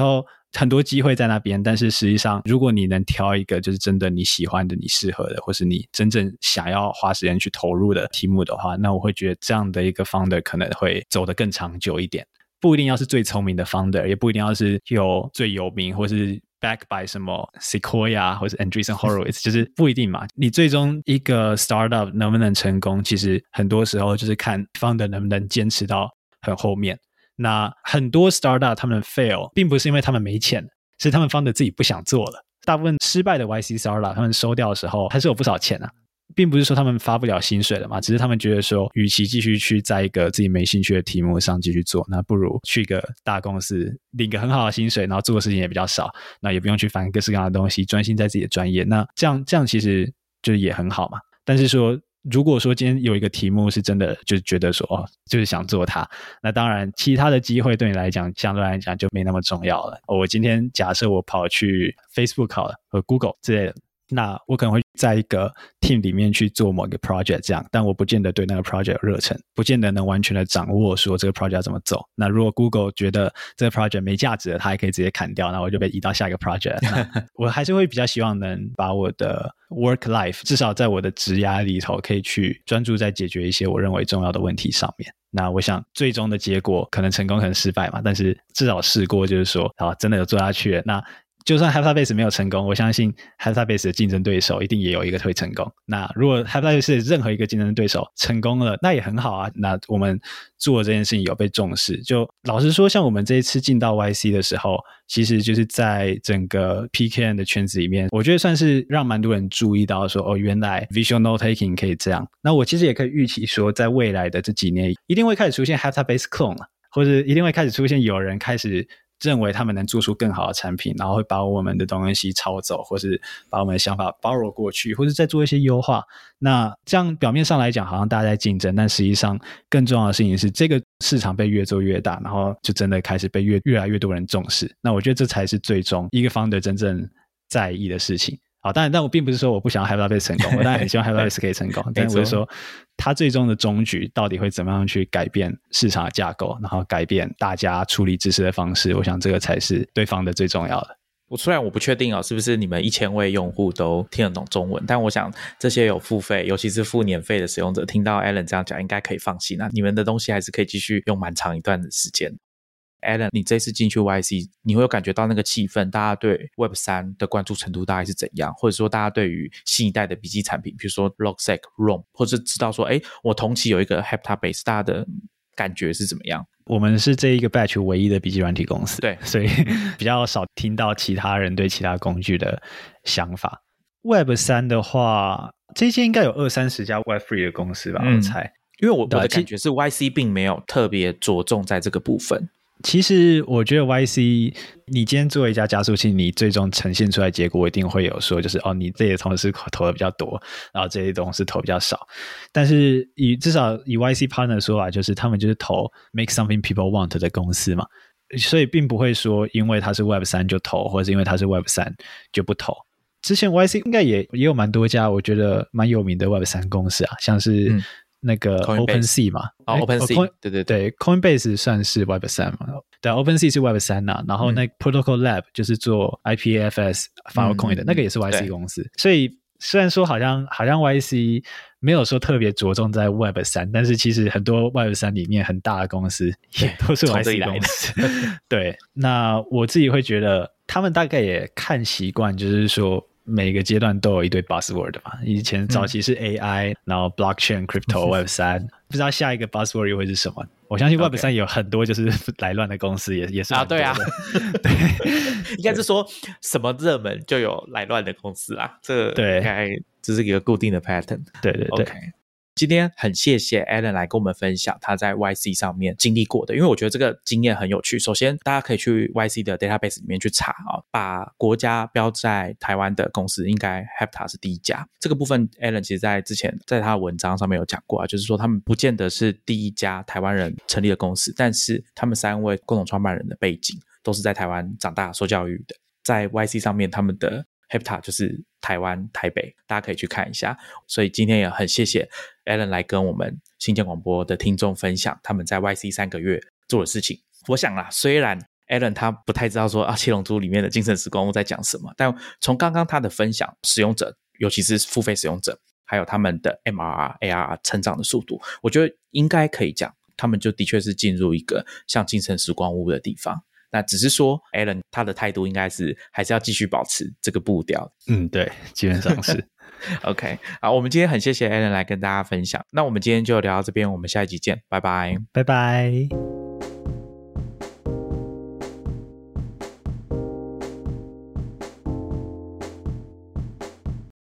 很多机会在那边，但是实际上如果你能挑一个就是真的你喜欢的你适合的或是你真正想要花时间去投入的题目的话，那我会觉得这样的一个 founder 可能会走得更长久一点。不一定要是最聪明的 founder， 也不一定要是有最有名或是 back by 什么 Sequoia 或是 Andreessen Horowitz 就是不一定嘛。你最终一个 startup 能不能成功，其实很多时候就是看 founder 能不能坚持到很后面。那很多 startup 他们 fail 并不是因为他们没钱，是他们 founder 自己不想做了。大部分失败的 YC startup 他们收掉的时候还是有不少钱啊，并不是说他们发不了薪水了嘛，只是他们觉得说与其继续去在一个自己没兴趣的题目上继续做，那不如去一个大公司领个很好的薪水，然后做的事情也比较少，那也不用去烦各式各样的东西，专心在自己的专业，那这样其实就是也很好嘛。但是说如果说今天有一个题目是真的就是觉得说就是想做它，那当然其他的机会对你来讲相对来讲就没那么重要了。我今天假设我跑去 Facebook 好了和 Google 之类的，那我可能会在一个 team 里面去做某一个 project 这样，但我不见得对那个 project 有热忱，不见得能完全的掌握说这个 project 要怎么走。那如果 Google 觉得这个 project 没价值了，它还可以直接砍掉，那我就被移到下一个 project 那我还是会比较希望能把我的 work life 至少在我的职涯里头可以去专注在解决一些我认为重要的问题上面。那我想最终的结果可能成功可能失败嘛，但是至少试过，就是说好真的有做下去了，那就算 HeptaBase 没有成功，我相信 HeptaBase 的竞争对手一定也有一个会成功。那如果 HeptaBase 的任何一个竞争对手成功了，那也很好啊。那我们做这件事情有被重视。就老实说，像我们这一次进到 YC 的时候，其实就是在整个 PKN 的圈子里面，我觉得算是让蛮多人注意到说，原来 Visual Note Taking 可以这样。那我其实也可以预期说，在未来的这几年，一定会开始出现 HeptaBase Clone 了，或者一定会开始出现有人开始认为他们能做出更好的产品，然后会把我们的东西抄走，或是把我们的想法 borrow 过去，或是再做一些优化。那这样表面上来讲好像大家在竞争，但实际上更重要的事情是这个市场被越做越大，然后就真的开始被越来越多人重视。那我觉得这才是最终一个 founder 真正在意的事情。好，但我并不是说我不想要 HeptaBase 成功，我当然很希望 HeptaBase 可以成功，但我是说它最终的终局到底会怎么样去改变市场的架构，然后改变大家处理知识的方式，我想这个才是对方的最重要的。 虽然我不确定是不是你们1000位用户都听得懂中文，但我想这些有付费尤其是付年费的使用者听到 Alan 这样讲应该可以放心，那你们的东西还是可以继续用蛮长一段的时间。Alan 你这次进去 YC 你会有感觉到那个气氛，大家对 Web3 的关注程度大概是怎样，或者说大家对于新一代的笔记产品比如说 Logseq、ROM 或者知道说我同期有一个 HeptaBase 大家的感觉是怎么样？ 我们是这一个 batch 唯一的笔记软体公司， 对， 所以比较少听到其他人对其他工具的想法。Web3 的话，这一届应该有20-30家 Web3 的公司吧，我猜。 因为我的感觉是 YC 并没有特别着重在这个部分。 其实我觉得 YC 你今天做一家加速器，你最终呈现出来结果一定会有说就是你这些同事投的比较多，然后这些同事投比较少，但是至少以 YC partner 的说法就是他们就是投 make something people want 的公司嘛，所以并不会说因为它是 Web3 就投，或者是因为它是 Web3 就不投。之前 YC 应该也有蛮多家我觉得蛮有名的 Web3 公司啊，像是那个 OpenSea 嘛 ，OpenSea 对 Coinbase 算是 Web3 嘛，对 OpenSea 是 Web3 啊，然后那 Protocol Lab 就是做 IPFS Filecoin 的，那个也是 YC 公司，所以虽然说好像 YC 没有说特别着重在 Web3， 但是其实很多 Web3 里面很大的公司也都是 YC 公司对，那我自己会觉得他们大概也看习惯，就是说每个阶段都有一堆 buzzword 嘛，以前早期是 AI，然后 blockchain、crypto、Web3 不知道下一个 buzzword 又会是什么。我相信 Web3 有很多就是来乱的公司也是蛮多的。 对，应该是说什么热门就有来乱的公司啦，这应该只是一个固定的 pattern。 对 OK，今天很谢谢 Alan 来跟我们分享他在 YC 上面经历过的，因为我觉得这个经验很有趣。首先大家可以去 YC 的 database 里面去查把国家标在台湾的公司应该 Hepta 是第一家。这个部分 Alan 其实在之前在他的文章上面有讲过就是说他们不见得是第一家台湾人成立的公司，但是他们3位共同创办人的背景都是在台湾长大受教育的，在 YC 上面他们的Hepta 就是台湾台北，大家可以去看一下。所以今天也很谢谢 Alan 来跟我们新建广播的听众分享他们在 YC 3个月做的事情。我想啦，虽然 Alan 他不太知道说七龙珠里面的精神时光屋在讲什么，但从刚刚他的分享，使用者尤其是付费使用者还有他们的 MRR、ARR 成长的速度，我觉得应该可以讲他们就的确是进入一个像精神时光屋的地方。那只是说 Alan 他的态度应该是还是要继续保持这个步调。 对，基本上是 OK， 好，我们今天很谢谢 Alan 来跟大家分享，那我们今天就聊到这边，我们下一集见，拜拜， 拜拜。